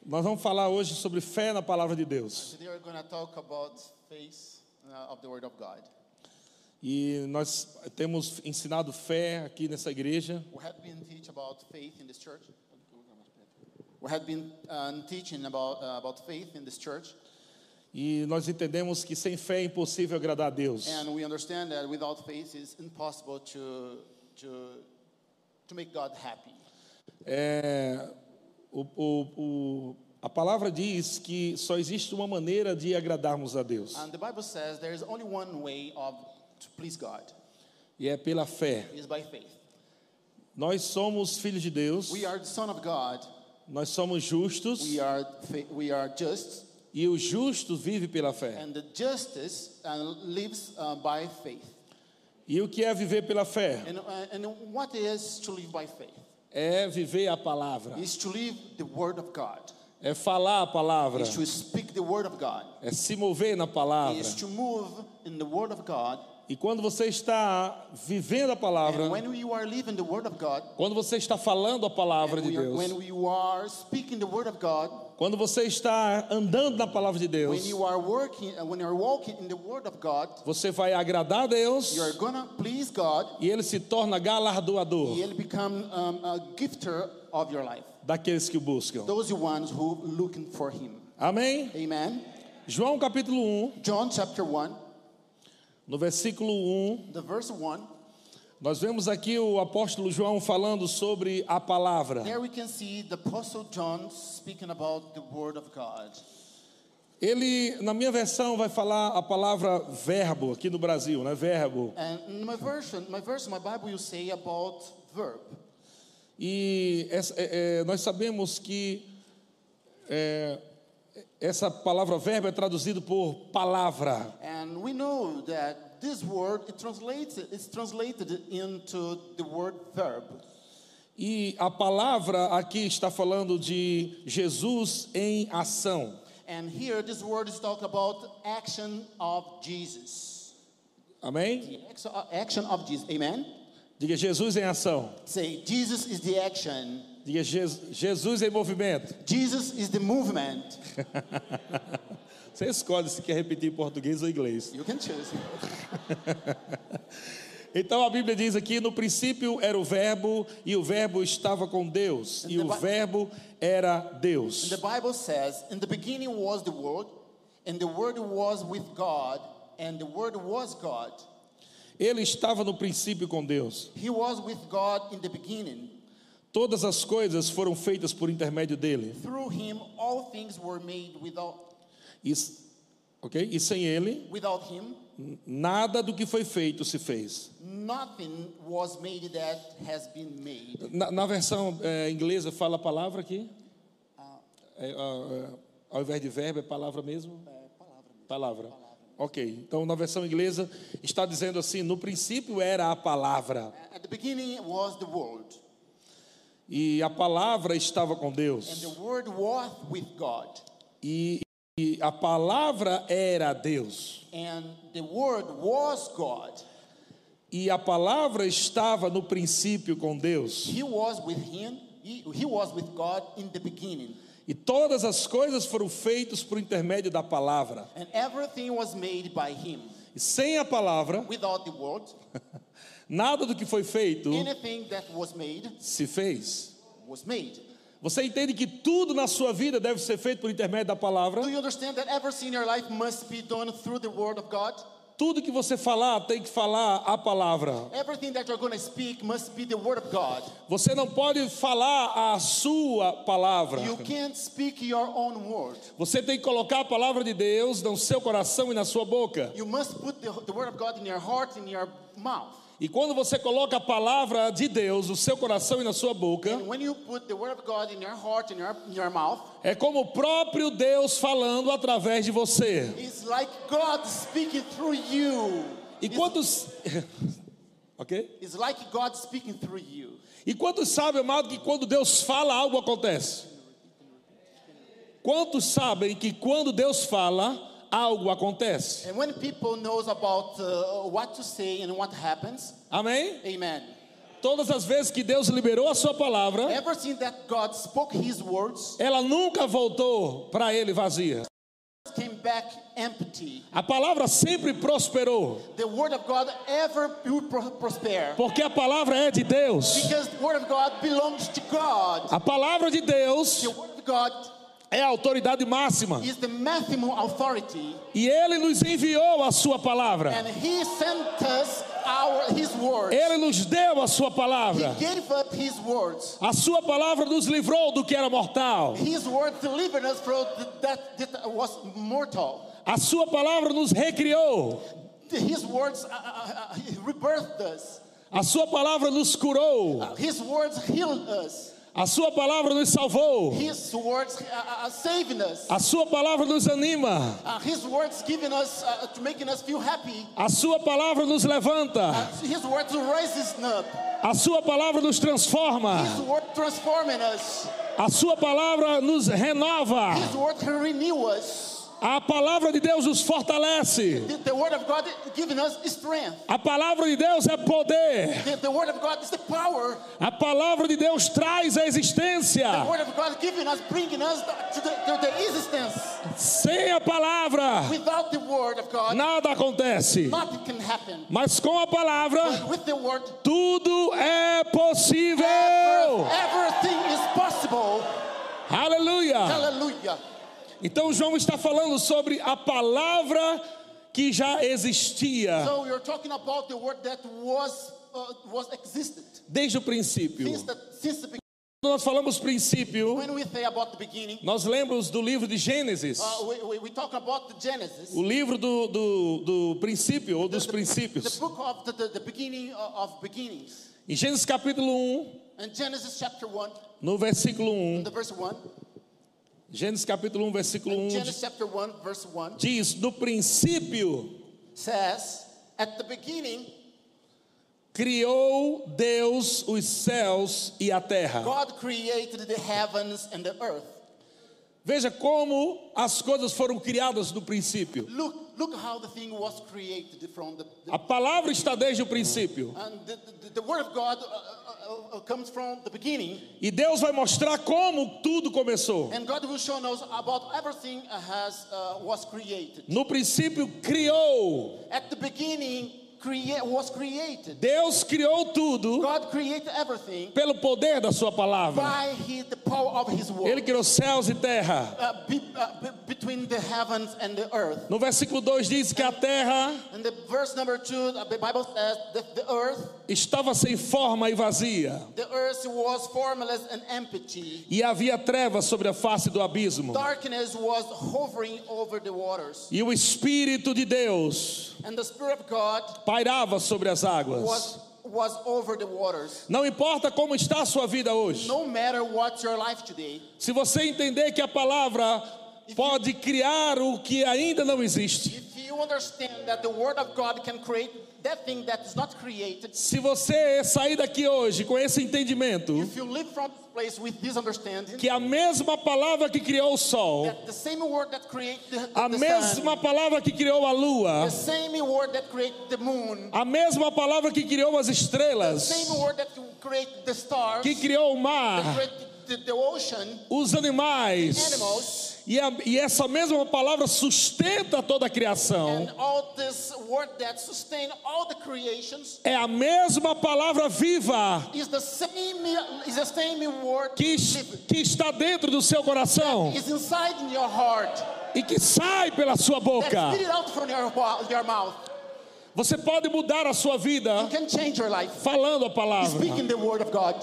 Nós vamos falar hoje sobre fé na palavra de Deus. Today we're going to talk about faith of the Word of God. E nós temos ensinado fé aqui nessa igreja. We have been teaching about faith in this church. We have been teaching about faith in this church. E nós entendemos que sem fé é impossível agradar a Deus. And we understand that without faith it's impossible to make God happy. A palavra diz que só existe uma maneira de agradarmos a Deus. And the Bible says there is only one way to please God. E é pela fé. It is by faith. Nós somos filhos de Deus. We are the son of God. Nós somos justos. We are just. E o justo vive pela fé. And the justice lives by faith. E o que é viver pela fé? And what is to live by faith? É viver a palavra. Is to live the word of God. É falar a palavra. Is to speak the word of God. É se mover na palavra. Is to move in the word of God. E quando você está vivendo a palavra, And when you are living the word of God, quando você está falando a palavra de Deus, when you are speaking the word of God, quando você está andando na palavra de Deus, when you are walking in the word of God, você vai agradar a Deus. You are gonna please God. E ele se torna galardoador. He'll become a gifter of your life. Daqueles que o buscam. Those ones who looking for him. Amém? Amen. João capítulo 1. John chapter 1. No versículo 1. The verse 1. Nós vemos aqui o apóstolo João falando sobre a palavra. There we can see the apostle John speaking about the word of God. Ele, na minha versão, vai falar a palavra verbo aqui no Brasil, né? Verbo. And in my Bible, you say about verb. E nós sabemos que essa palavra verbo é traduzido por palavra. And we know that this word is translated into the word verb. E a palavra aqui está falando de Jesus em ação. And here this word is talking about action of Jesus. Amém? The action of Jesus. Amen. Diga Jesus em ação. Say Jesus is the action. Diga Jesus em movimento. Jesus is the movement. Você escolhe se quer repetir em português ou inglês. You can choose. Então a Bíblia diz aqui: no princípio era o verbo e o verbo estava com Deus e o verbo era Deus. And the Bible says, in the beginning was the Word, and the Word was with God, and the Word was God. Ele estava no princípio com Deus. He was with God in the beginning. Todas as coisas foram feitas por intermédio dele. Through him all things were made. E sem ele, without him, nada do que foi feito se fez. Nothing was made that has been made. Na versão inglesa fala a palavra aqui? Ao invés de verbo é palavra mesmo? Palavra. Ok, então na versão inglesa está dizendo assim: no princípio era a palavra. At the beginning was the Word. E a palavra estava com Deus. And the Word was with God. E a palavra era Deus. And the Word was God. E a palavra estava no princípio com Deus. He was with him. He was with God in the beginning. E todas as coisas foram feitas por intermédio da palavra. And everything was made by him. E sem a palavra, without the word, nada do que foi feito anything that was made se fez. Was made. Você entende que tudo na sua vida deve ser feito por intermédio da palavra? Do you understand that everything in your life must be done through the word of God? Tudo que você falar tem que falar a palavra. Everything that you're going to speak must be the word of God. Você não pode falar a sua palavra. You can't speak your own word. Você tem que colocar a palavra de Deus no seu coração e na sua boca. You must put the word of God in your heart and in your mouth. E quando você coloca a palavra de Deus no seu coração e na sua boca, and when you put the word of God in your heart and in your mouth, é como o próprio Deus falando através de você. It's like God speaking through you. E quantos OK? It's like God speaking through you. E quantos sabem, amado, que quando Deus fala, algo acontece? Quantos sabem que quando Deus fala, algo acontece? And when people knows about what to say and what happens, Amém? amen. Todas as vezes que Deus liberou a sua palavra, ever since that God spoke His words, ela nunca voltou para Ele vazia. came back empty. A palavra sempre prosperou, The word of God ever will prosper. porque a palavra é de Deus. Because the word of God belongs to God. A palavra de Deus The word of God é a autoridade máxima. is the maximum authority. E Ele nos enviou a sua palavra. And He sent us His words. Ele nos deu a sua He palavra. gave us His words. A sua palavra nos livrou do que era mortal. His word delivered us from that was mortal. A sua palavra nos recriou. His words rebirthed us. A sua palavra nos curou. His words healed us. A sua palavra nos salvou. His words saving us. A sua palavra nos anima. His words giving us, making us feel happy. A sua palavra nos levanta. His words raises us up. A sua palavra nos transforma. His word transforming us. A sua palavra nos renova. His word renew us. A palavra de Deus nos fortalece. The word of God giving us strength. A palavra de Deus é poder. The word of God is the power. A palavra de Deus traz a existência. The word of God giving us, bringing us to the existence. Sem a palavra, Without the word of God, nada acontece. nothing can happen. Mas com a palavra, With the word, tudo é possível. everything is possible. Aleluia. Hallelujah. Então João está falando sobre a palavra que já existia So we are talking about the word that was existed desde o princípio. since the beginning. Quando nós falamos princípio, When we say about the beginning, nós lembramos do livro de Gênesis, we talk about the Genesis, o livro do princípio ou dos the princípios. book of the beginning of beginnings. Em Gênesis capítulo 1, In Genesis chapter 1, no versículo 1, the verse 1. Gênesis capítulo 1, versículo 1 Genesis chapter 1, verse 1 diz: no princípio says, at the beginning, criou Deus os céus e a terra. God created the heavens and the earth. Veja como as coisas foram criadas no princípio. Look how the thing was created from the A palavra está desde o princípio. and the word of God comes from the beginning, E Deus vai mostrar como tudo começou. and God will show us about everything was created. No princípio criou. At the beginning, was created. Deus criou tudo God created everything pelo poder da sua palavra. by the power of His word. Ele criou céus e terra. Between the heavens and the earth. No versículo 2 diz que a terra And the verse number 2, the Bible says that the earth estava sem forma e vazia, was formless and empty. e havia trevas sobre a face do abismo. Darkness was hovering over the waters. E o Espírito de Deus And the Spirit of God pairava sobre as águas. was over the waters. Não importa como está a sua vida hoje. No matter what's your life today, Se você entender que a palavra pode criar o que ainda não existe. if you understand that the Word of God can create that thing that is not created, Se você sair daqui hoje com esse entendimento, if you live from this place with this understanding, que a mesma palavra que criou o sol, that the same Word that created a the mesma sun, palavra que criou a lua, the same Word that created the moon, a mesma palavra que criou as the estrelas, same Word that created the stars, que criou o that mar, created the ocean, os animais, animals, e essa mesma palavra sustenta toda a criação. and all this Word that sustain all the creations É a mesma palavra viva is the same Word que está dentro do seu coração is inside in your heart. e que sai pela sua boca. That spit it out from your mouth. Você pode mudar a sua vida You can change your life. falando a palavra. Speaking the Word of God.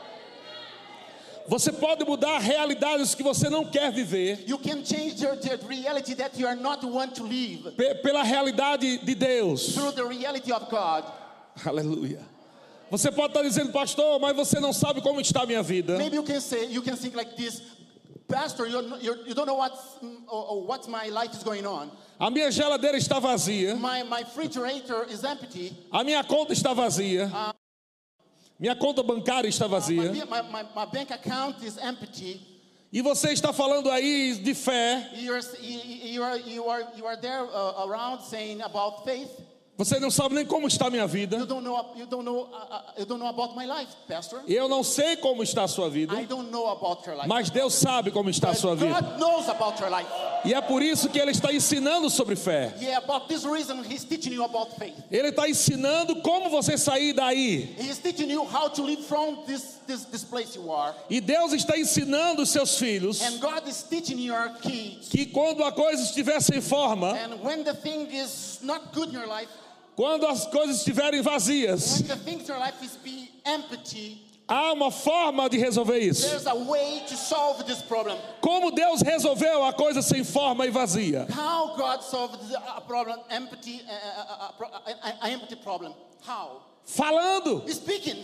Você pode mudar realidades que você não quer viver You can change the reality that you are not want to live pela realidade de Deus. through the reality of God. Aleluia. Você pode estar dizendo, pastor, mas você não sabe como está a minha vida. Maybe you can think like this, Pastor, you don't know what's my life is going on. A minha geladeira está vazia. My refrigerator is empty. A minha conta está vazia. Minha conta bancária está vazia. My bank account is empty. E você está falando aí de fé. You are there around saying about faith. Você não sabe nem como está a minha vida. You don't know about my life, Pastor. Eu não sei como está a sua vida, I don't know about your life. mas Deus sabe como está a sua vida. God knows about your life. E é por isso que Ele está ensinando sobre fé. Yeah, about this reason He's teaching you about faith. Ele está ensinando como você sair daí. He's teaching you how to live from this place you are. E Deus está ensinando os seus filhos And God is teaching your kids. que quando a coisa estiver sem forma, And when the thing is not good in your life, quando as coisas estiverem vazias, when the things in your life is be empty, há uma forma de resolver isso. there's a way to solve this problem. Como Deus resolveu a coisa sem forma e vazia? How God solved a problem, empty problem. How? Falando. Speaking.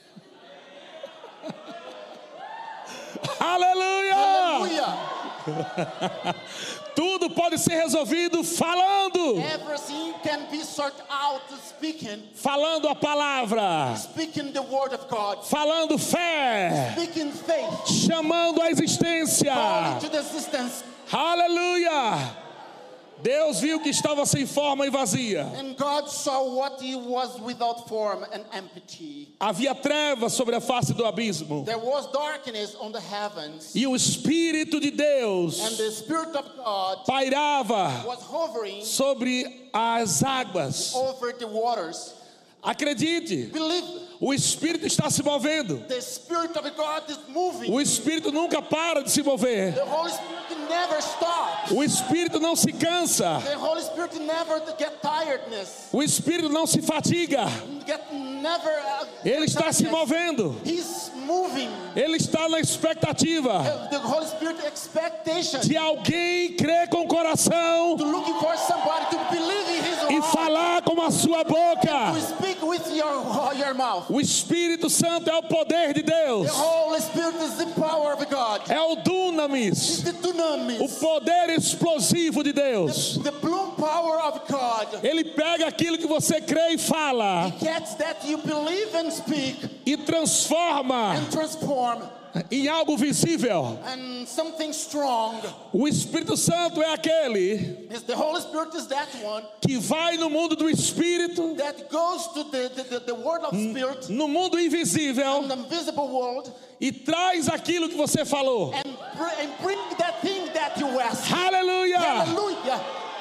Aleluia! Hallelujah. Tudo pode ser resolvido falando. Everything can be sorted out speaking. Falando a palavra. Speaking the word of God. Falando fé. Speaking faith. Chamando a existência. Calling to the existence. Aleluia! Deus viu que estava sem forma e vazia. And God saw what he was without form and empty. Havia trevas sobre a face do abismo. There was darkness on the heavens. E o Espírito de Deus And the Spirit of God pairava was hovering sobre as águas. over the waters. Acredite, Believe. o Espírito está se movendo. The Spirit of God is moving. O Espírito nunca para de se mover. The Holy Spirit never stops. O Espírito não se cansa. The Holy Spirit never get tiredness. O Espírito não se fatiga. Ele está se movendo. He's moving. Ele está na expectativa The Holy Spirit expectation. de alguém crer com o coração To looking for somebody to believe in his e heart. falar com a sua boca. To speak with your mouth. O Espírito Santo é o poder de Deus. The Holy Spirit is the power of God. É o It's dunamis, the dunamis. o poder explosivo de Deus. The bloom power of God. Ele pega aquilo que você crê e fala He gets that you believe and speak e transforma and transform em algo visível. and something strong. O Espírito Santo é aquele The Holy Spirit is that one que vai no mundo do Espírito, that goes to the world of spirit, no mundo invisível, the invisible world, e traz aquilo que você falou. and bring that thing that you ask. Aleluia! Hallelujah.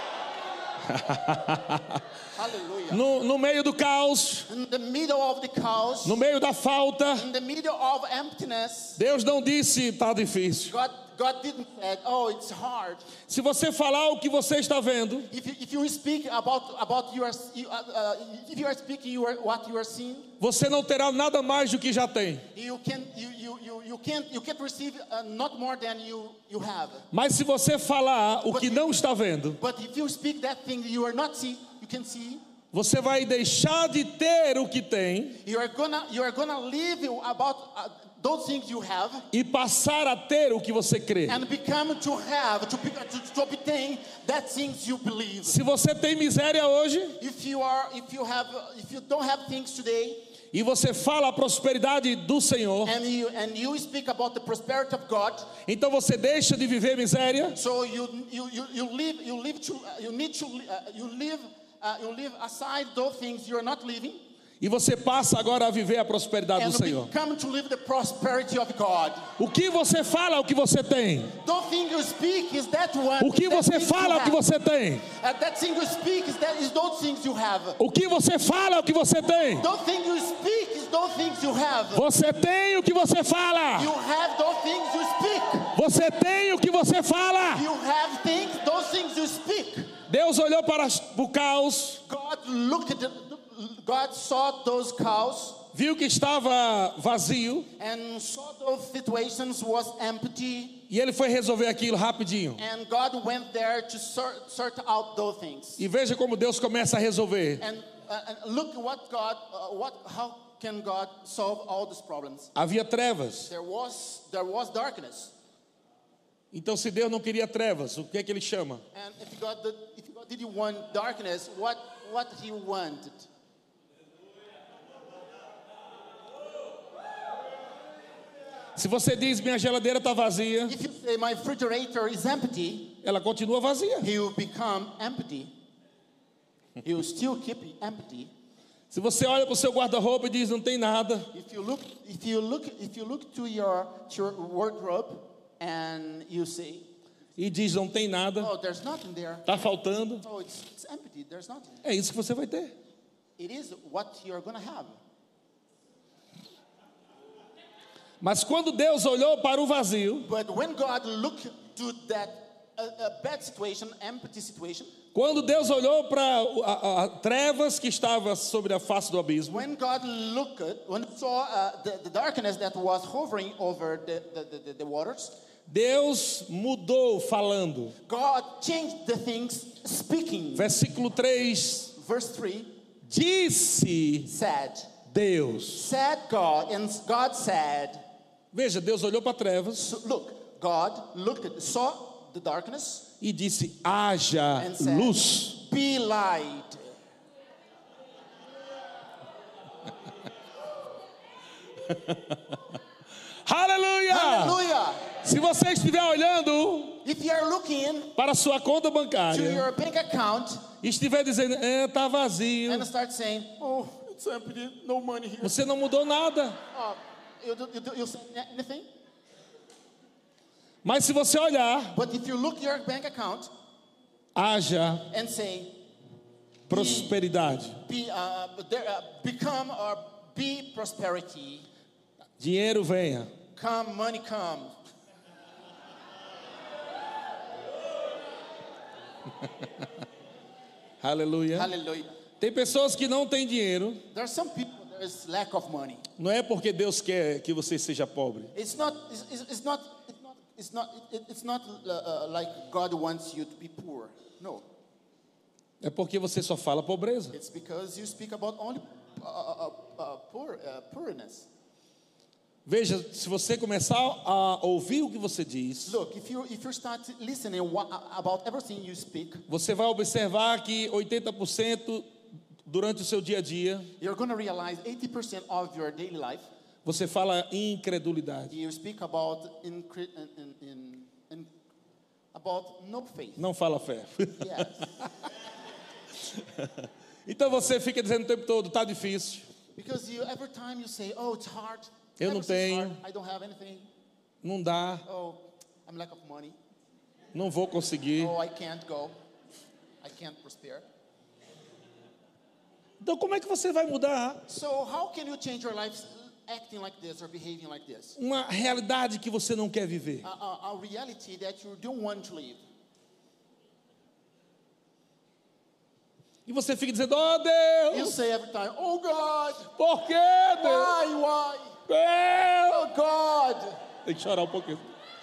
Hallelujah. No meio do caos, In the middle of the chaos, no meio da falta, in the middle of emptiness, Deus não disse tá difícil. God didn't say, oh, it's hard. Se você falar o que você está vendo, If you speak about your, if you are speaking what you are seeing, você não terá nada mais do que já tem. you can't receive not more than you have. Mas se você falar o que não está vendo, But if you speak that thing you are not see, you can see. você vai deixar de ter o que tem You are gonna live about those things you have e passar a ter o que você crê. and become to have to obtain that things you believe. Se você tem miséria hoje If you don't have things today e você fala a prosperidade do Senhor, and you speak about the prosperity of God, então você deixa de viver miséria so you live aside those things you are not living. e você passa agora a viver a prosperidade do And Senhor. become to live the prosperity of God. O que você fala é o que você tem. Don't think you speak is that one. O que você fala é o que você tem. That thing you speak is those things you have. O que você fala é o que você tem. Don't think you speak is those things you have. Você tem o que você fala. You have those things you speak. Você tem o que você fala. You have things, those things you speak. Deus olhou para o caos, God saw those cows viu que estava vazio and saw those situations was empty, e ele foi resolver aquilo rapidinho. and God went there to sort out those things. E veja como Deus começa a resolver. And look what how can God solve all these problems? Havia trevas. There was darkness. Então, se Deus não queria trevas, o que é que ele chama? And if God didn't want darkness, what he wanted? Se você diz minha geladeira está vazia, If you say my refrigerator is empty, ela continua vazia. he will become empty. He will still keep empty. Se você olha para o seu guarda-roupa e diz não tem nada, If you look to your wardrobe and you say, e diz não tem nada, oh, there's nothing there. está faltando, Oh, it's empty. There's nothing. é isso que você vai ter. It is what you're gonna have. Mas quando Deus olhou para o vazio, But when God looked to that bad situation, empty situation, quando Deus olhou para a trevas que estava sobre a face do abismo, when God saw the darkness that was hovering over the waters, Deus mudou falando. God changed the things speaking. Versículo 3, Verse 3 disse Deus. said God, and God said, Veja, Deus olhou para trevas so, look, God saw the darkness e disse, haja and said, luz. be light. Aleluia! Hallelujah. Se você estiver olhando If you are looking para a sua conta to bancária your bank account e estiver dizendo, está vazio, and start saying, oh, it's empty, no money here. você não mudou nada. You say anything? Mas se você olhar, But if you look your bank account haja and say, prosperidade. become or be prosperity, Dinheiro venha. come, money come. Aleluia. Hallelujah. Tem pessoas que não têm dinheiro. There are some people, there is lack of money. Não é porque Deus quer que você seja pobre. It's not like God wants you to be poor. No, É porque você só fala pobreza. it's because you speak about only poorness. Veja, se você começar a ouvir o que você diz, Look, if you start listening about everything you speak, você vai observar que 80% durante o seu dia a dia, you're going to realize 80% of your daily life, você fala incredulidade. you speak about about no faith. Não fala fé. Yes. Então você fica dizendo o tempo todo, está difícil. Because every time you say, oh, it's hard. Eu não Everything's tenho. hard, I don't have anything. Não dá, Oh, I'm lack of money. não vou conseguir. Oh, I can't go. I can't prosper. Então como é que você vai mudar So how can you change your life acting like this or behaving like this? uma realidade que você não quer viver? A reality that you don't want to live. E você fica dizendo, oh You Deus, say every time, oh God, por quê, Deus? why? Deus. Oh God, Tem que chorar um pouquinho.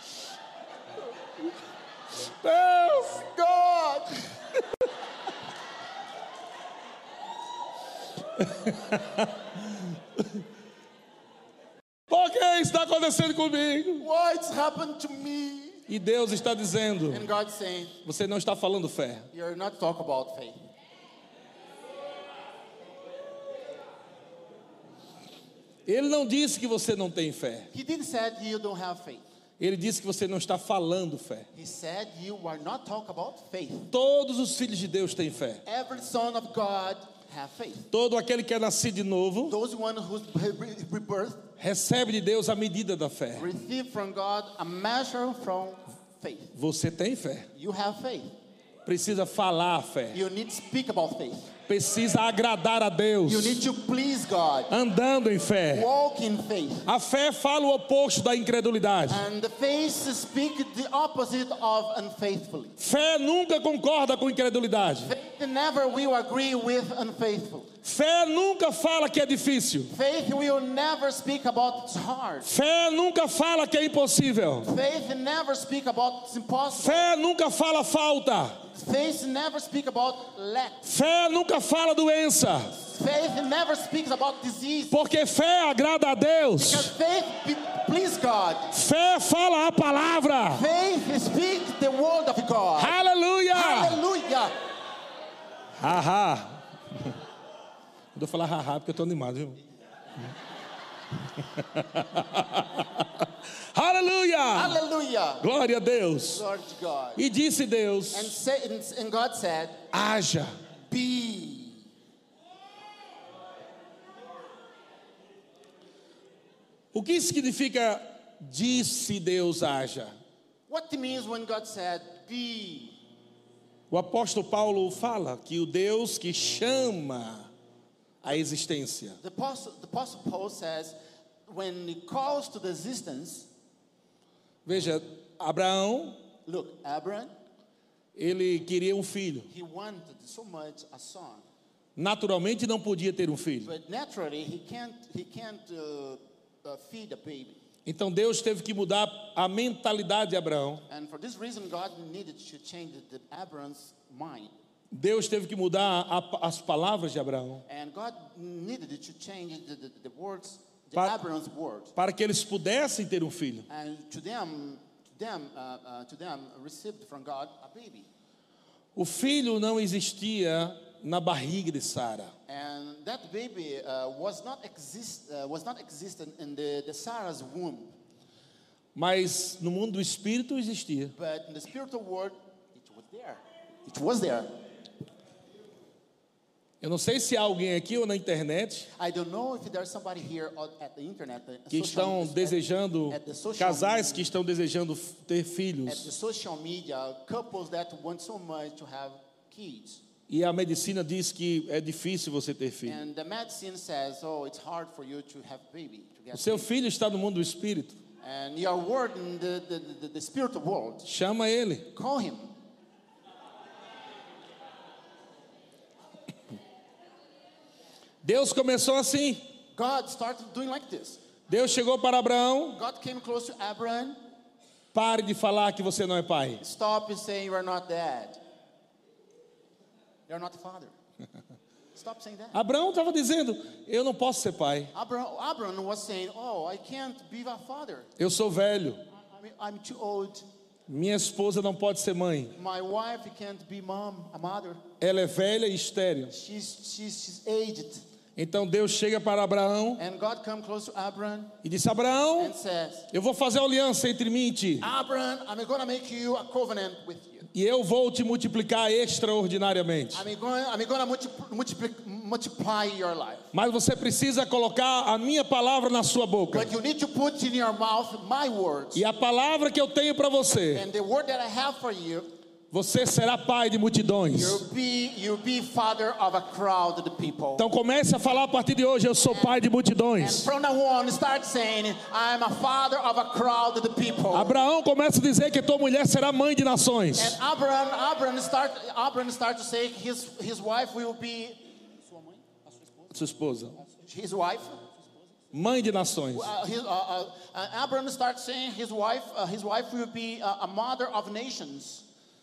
Deus. God. Por que isso está acontecendo comigo? What's happened to me? E Deus está dizendo, And God's saying, você não está falando fé. you're not talking about faith. Ele não disse que você não tem fé. He didn't say you don't have faith. Ele disse que você não está falando fé. He said you are not talking about faith. Todos os filhos de Deus têm fé. Every son of God have faith. Todo aquele que é nascido de novo Those one who's rebirth recebe de Deus a medida da fé. receive from God a measure from faith. Você tem fé. You have faith. Precisa falar a fé. You need to speak about faith. Precisa agradar a Deus. You need to please God. Andando em fé. Walk in faith. A fé fala o oposto da incredulidade. And the faith speak the opposite of unfaithfully. Fé nunca concorda com incredulidade. Faith never will agree with unfaithful. Fé nunca fala que é difícil. Faith will never speak about it's hard. Fé nunca fala que é impossível. Faith never speak about it's impossible. Fé nunca fala falta. Faith never speak about lack. Fé nunca fala doença. Faith never speaks about disease. Porque fé agrada a Deus. Because faith please God. Fé fala a palavra. Faith speaks the word of God. Aleluia. Hallelujah. Haha. Vou falar haha porque eu estou animado, viu? Aleluia. Hallelujah. Glória a Deus. Glory to God. E disse Deus, And God said, haja. be. O que significa disse Deus haja? What it means when God said, be. O apóstolo Paulo fala que o Deus que chama a existência. The Apostle Paul says, when he calls to the existence, Veja, Abraão, look, Abraham, ele queria um filho. he wanted so much a son. Naturalmente não podia ter um filho. But naturally, he can't feed a baby. Então Deus teve que mudar a mentalidade de Abraão. And for this reason, God needed to change Abraham's mind. Deus teve que mudar as palavras de Abraão And God needed to change the words, Abraham's words. para que eles pudessem ter um filho. And to them received from God a baby. O filho não existia na barriga de Sara. And that baby was not existent in the Sarah's womb. Mas no mundo do espírito existia. But in the spiritual world, it was there. It was there. Eu não sei se há alguém aqui ou na internet I don't know if there's somebody here at the internet, que estão desejando, at the social casais media, que estão desejando ter at the filhos. social media, couples that want so much to have kids. E a medicina diz que é difícil você ter filho. And the medicine says, oh, it's hard for you to have baby, to get O seu baby. filho está no mundo do espírito. And you are word in the spiritual world. Chama ele. Call him. Deus começou assim. God started doing like this. Deus chegou para Abraão. God came close to Abraham. Pare de falar que você não é pai. Stop saying you are not dad. You are not the father. Stop saying that. Abraão estava dizendo, eu não posso ser pai. Abraham was saying, oh, I can't be a father. Eu sou velho. I'm too old. Minha esposa não pode ser mãe. My wife can't be a mother. Ela é velha e estéril. She's aged. Então Deus chega para Abraão And God come close to Abraham e disse, Abraão, and says, eu vou fazer aliança entre mim e ti. Abraham, I'm going to make you a covenant with you. E eu vou te multiplicar extraordinariamente. I'm going to multiply your life. Mas você precisa colocar a minha palavra na sua boca. But you need to put in your mouth my words. E a palavra que eu tenho para você, And the word that I have for you, você será pai de multidões. you'll be father of a crowd of people. Então comece a falar a partir de hoje, eu sou pai de And multidões. from now on, start saying, I'm a father of a crowd of people. Abraão começa a dizer que tua mulher será mãe de nações. And Abraham start to say his wife will be Sua esposa, his wife. mãe de nações. Abraham starts saying his wife will be a mother of nations.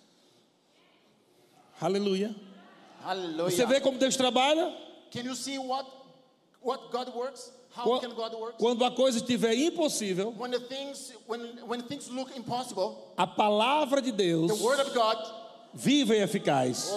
Aleluia. Hallelujah. Você vê como Deus trabalha? Can you see what God works? How can God work? Quando a coisa estiver impossível, When things look impossible, a palavra de Deus, the word of God viva e eficaz,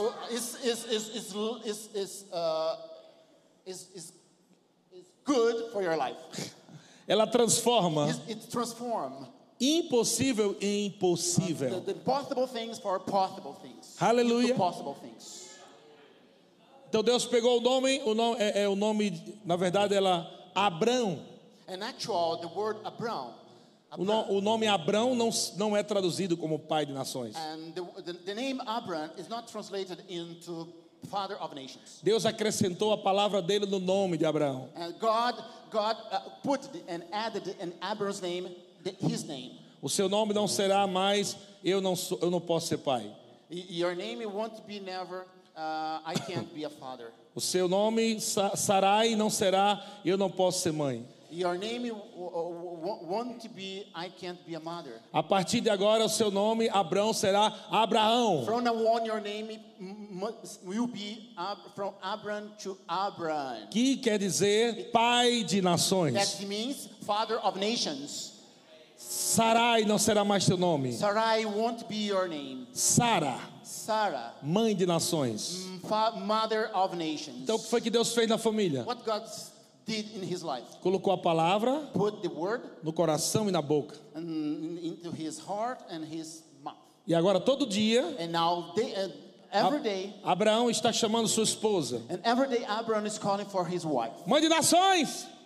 is good for your life. ela transforma It transforms impossível em possível. the possible things for possible things. Aleluia. Into possible things. Então Deus pegou o nome, na verdade, ela Abrão. And actually, the word Abraham. O nome Abrão não é traduzido como pai de nações. And the name Abraham is not translated into father of nations. Deus acrescentou a palavra dele no nome de Abraão. And God put and added in Abraham's name his name. O seu nome não será mais eu não posso ser pai. Your name won't be never I can't be a father. O seu nome Sarai não será eu não posso ser mãe. Your name won't be I can't be a mother. A partir de agora o seu nome Abrão será Abraão. From now on your name will be from Abraham to Abraham. Que quer dizer pai de nações. That means father of nations. Sarai não será mais teu nome. Sarai won't be your name. Sarah, mãe de nações. Mother of nations. Então o que foi que Deus fez na família? What God did in his life? Colocou a palavra Put the word no coração e na boca. into his heart and his mouth. E agora todo dia And now every day, Abraão está chamando sua esposa. and every day Abraham is calling for his wife. Mãe de nações,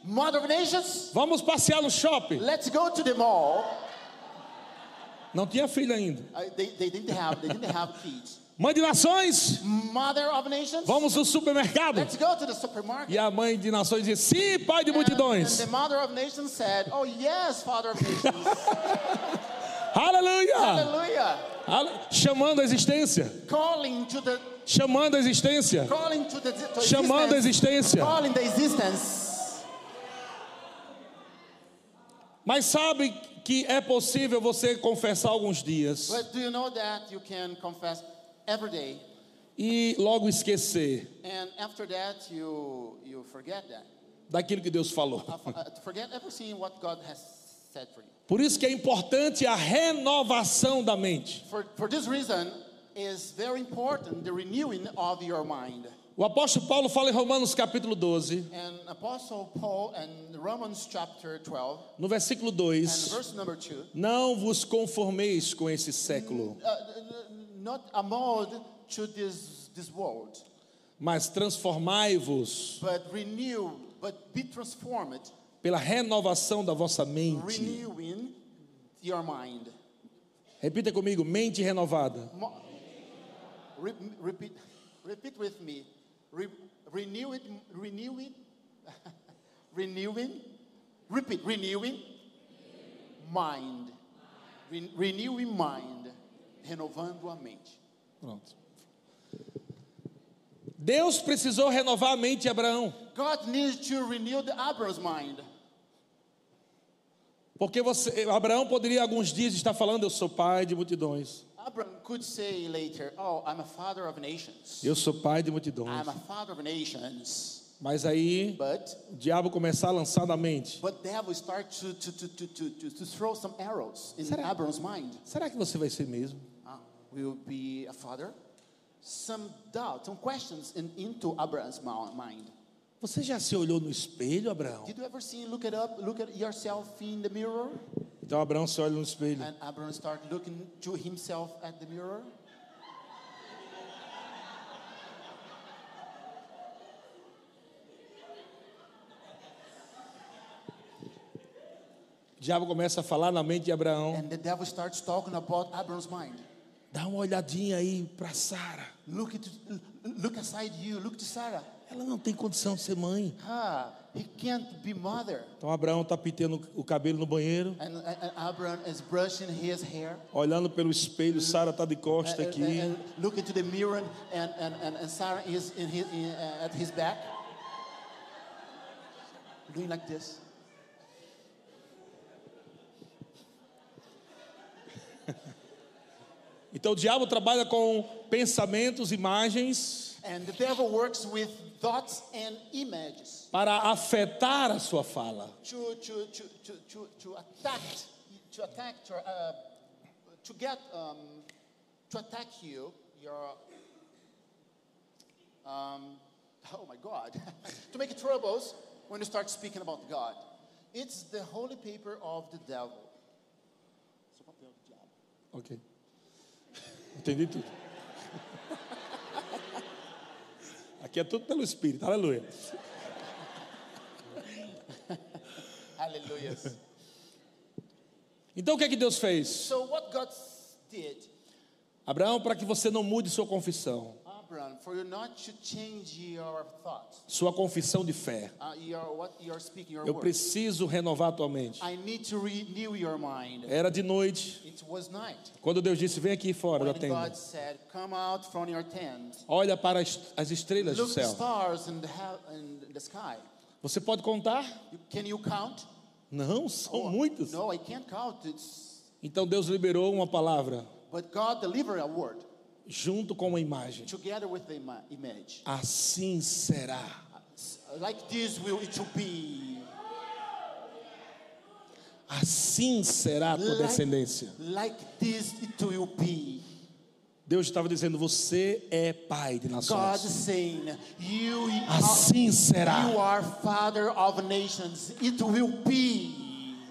Mother of nations, vamos passear no shopping. let's go to the mall. Não tinha filho ainda. They didn't have kids. Mãe de nações, Mother of nations, vamos no supermercado. let's go to the supermarket. E a mãe de nações dizia, sim, pai de And multidões. the mother of nations said, oh yes, father of nations. Aleluia! Hallelujah. Chamando a existência. Calling to the Chamando a existência. Chamando a existência. Calling the existence. Mas sabe que é possível você confessar alguns dias But do you know that you can confess every day, e logo esquecer and after that you forget that. daquilo que Deus falou. Forget everything what God has said for you. Por isso que é importante a renovação da mente. For this reason, is very important the renewing of your mind. O apóstolo Paulo fala em Romanos capítulo 12, And Apostle Paul in Romans chapter 12 no versículo and 2, verse number 2, não vos conformeis com esse século, not a mold to this world, mas transformai-vos but be transformed, pela renovação da vossa mente. renewing your mind. Repita comigo, mente renovada. Repeat with me. Renewing. Repeat. Renewing mind. Renewing mind. Renovando a mente. Pronto. Deus precisou renovar a mente de Abraão. God needs to renew Abraham's mind. Porque Abraão poderia alguns dias estar falando, eu sou pai de multidões. Abraham could say later, oh, I'm a father of nations. Eu sou pai de multidões. I'm a father of nations. Mas aí But o diabo começar a lançar na mente. devil start to throw some arrows in Abraham's mind. Será que você vai ser mesmo? Will be a father? Some doubt, some questions into Abraham's mind. Você já se olhou no espelho, Abraão? Did you ever look at yourself in the mirror? Então Abraão se olha no espelho. And Abraham started looking to himself at the mirror. O diabo começa a falar na mente de Abraão. And the devil starts talking about Abraham's mind. Dá uma olhadinha aí para Sara. Look aside you, look to Sarah. Ela não tem condição de ser mãe. He can't be mother. Então Abraão está pintando o cabelo no banheiro. And Abraham is brushing his hair. Olhando pelo espelho, Sara está de costa aqui. And looking to the mirror, and Sarah is at his back, doing like this. Então o diabo trabalha com pensamentos, imagens. And the devil works with thoughts and images Para afetar a sua fala. To attack you, oh my God, to make troubles when you start speaking about God. It's the holy paper of the devil. Ok. Entendi tudo. Aqui é tudo pelo Espírito, aleluia. Hallelujah. Então o que é que Deus fez? So what God did, Abraão, para que você não mude sua confissão. Abraham, for you not to change your thoughts, Sua confissão de fé. what you are speaking, your Eu words. preciso renovar a tua mente. I need to renew your mind. Era de noite, It was night. quando Deus disse, vem aqui fora da When tenda. God said, come out from your tent. Olha para as estrelas do Look the céu. stars in the sky. Você pode contar? Can you count? Não, são muitas. No, I can't count. Então Deus liberou uma palavra But God delivered a word junto com uma imagem. together with the image. Assim será. Like this it will be. Assim será a tua descendência. Like this it will be. Deus estava dizendo, você é pai de God nações. saying, Assim será. you are father of nations. It will be.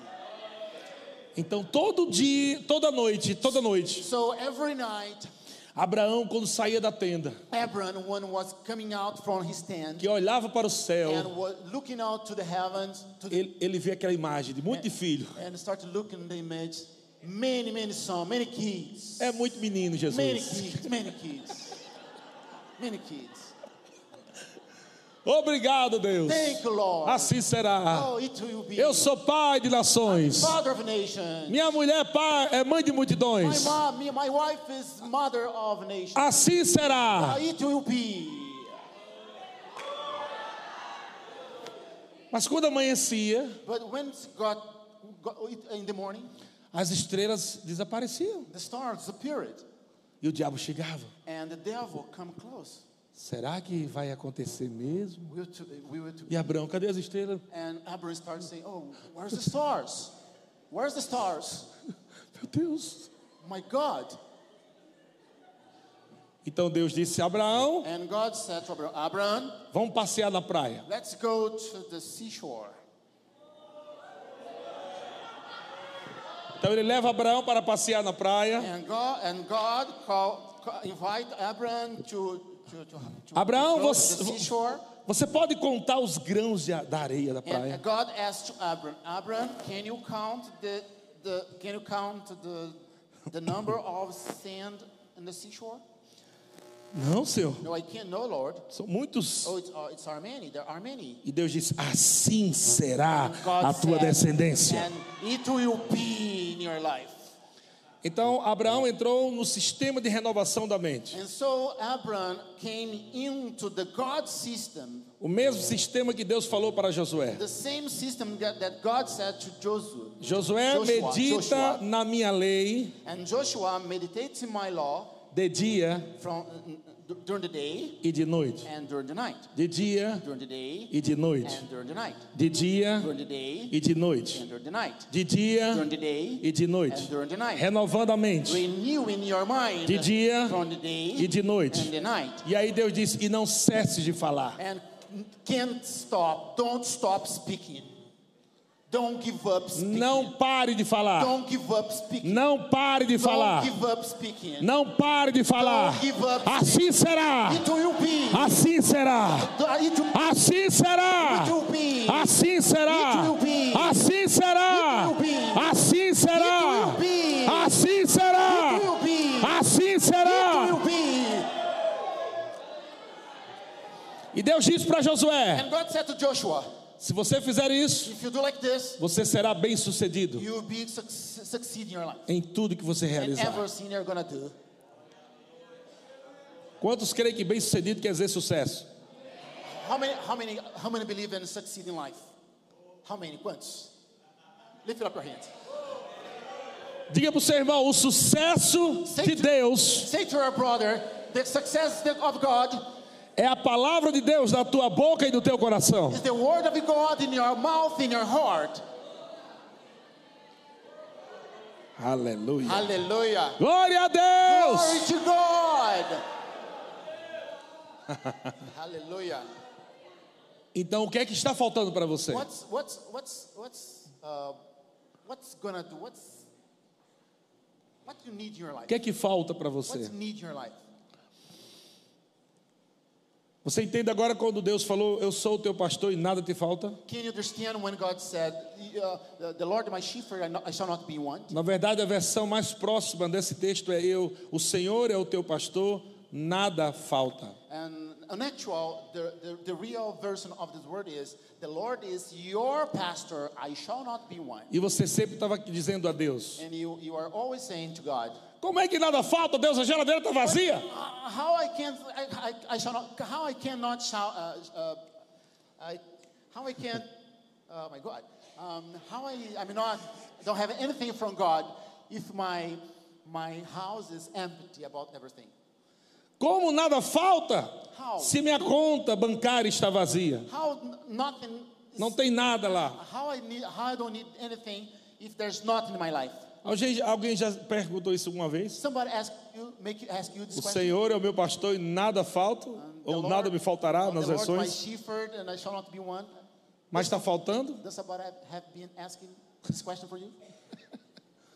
Então todo dia, toda noite, So every night, Abraão, quando saía da tenda, Abraham, when was coming out from his tent que olhava para o céu, and was looking out to the heavens, ele via aquela imagem de muito filho. and started looking at the image, many sons, many kids, É muito menino, Jesus. many kids, many kids. Obrigado, Deus. Thank you, Lord. Assim será. Oh, it will be. Eu sou pai de nações. Father of nations. Minha mulher é mãe de multidões. My wife is mother of nations. Assim será. It will be. Mas quando amanhecia, But when God in the morning, as estrelas desapareciam. the stars appeared, E o diabo chegava. and the devil come close. Será que vai acontecer mesmo? We were to, E Abraão, cadê as estrelas? and Abraham started saying, "Oh, where's the stars? Where's the stars? Meu Deus. My God!" Então Deus disse: Abraão, And God said to Abraham, "Abraham, vamos passear na praia. let's go to the seashore." Então ele leva Abraão para passear na praia. And God invite Abraham to Abraão, go to the seashore. você pode contar os grãos da areia da praia? And God asked to Abraham, can you count the number of sand in the seashore? Não, Senhor. No, I can't. No, Lord. São muitos. Oh, it's are many. There are many. E Deus disse: assim será God a tua said, descendência. and it will be in your life. Então Abraão entrou no sistema de renovação da mente. And so Abraham came into the God system, O mesmo sistema que Deus falou para Josué. the same system that God said to Joshua. Josué medita na minha lei And Joshua meditates in my law de dia during the day e de noite. and during the night. De dia During the day e de noite. and during the night. De dia During the day e de noite. and during the night. De dia During the day e de noite. and during the night. Renovando a mente. Renewing your mind De dia from the day e de noite. and the night. E aí Deus disse: e não cesse de falar. And can't stop. Don't stop speaking. Don't give up speaking. Não pare de falar. Don't give up speaking. Não pare de falar. Don't give up speaking. Não pare de falar. Don't give up Assim será. It will be. Assim será. It will, Assim será. it will be. Assim será. It will be. Assim será. It will be. Assim será. It will be. Assim será. It will be. Assim It será. will be. E Deus disse para Josué: And God said to Joshua, se você fizer isso, if you do like this, você será bem-sucedido you will be succeed in your life. em tudo que você And realizar. everything you're gonna do. Quantos creem que bem-sucedido quer dizer sucesso? How many believe in succeed in life? How many? Quantos? Lift up your hands. Diga para o seu irmão: o sucesso de Deus Say to our brother, the success of God é a palavra de Deus na tua boca e no teu coração. is the word of God in your mouth, in your heart. Aleluia. Hallelujah. Glória a Deus. Glory to God. Hallelujah. Então o que é que está faltando para você? What's gonna do? What you need in your O life? que é que falta para What você? you need in your life? Você entende agora quando Deus falou: eu sou o teu pastor e nada te falta? Can you understand when God said, "The Lord is my shepherd; I shall not be want"? Na verdade, a versão mais próxima desse texto é: o Senhor é o teu pastor, nada falta. And in actual, the real version of this word is, "The Lord is your pastor; I shall not be want." E você sempre estava dizendo a Deus: And you are always saying to God, como é que nada falta, Deus? A geladeira está vazia. "How I can't? I shall not. How I cannot shall? How I can't? Oh my God! How I'm not? Don't have anything from God if my house is empty about everything." Como nada falta How? se minha conta bancária está vazia? How nothing? Não tem nada lá. How I don't need anything if there's nothing in my life? Alguém já perguntou isso uma vez? Somebody ask you this O question. Senhor é o meu pastor e nada falta, ou nada me faltará nas The Lord my versões. shepherd and I shall not be want. Mas está faltando? Does somebody have been asking this question for you?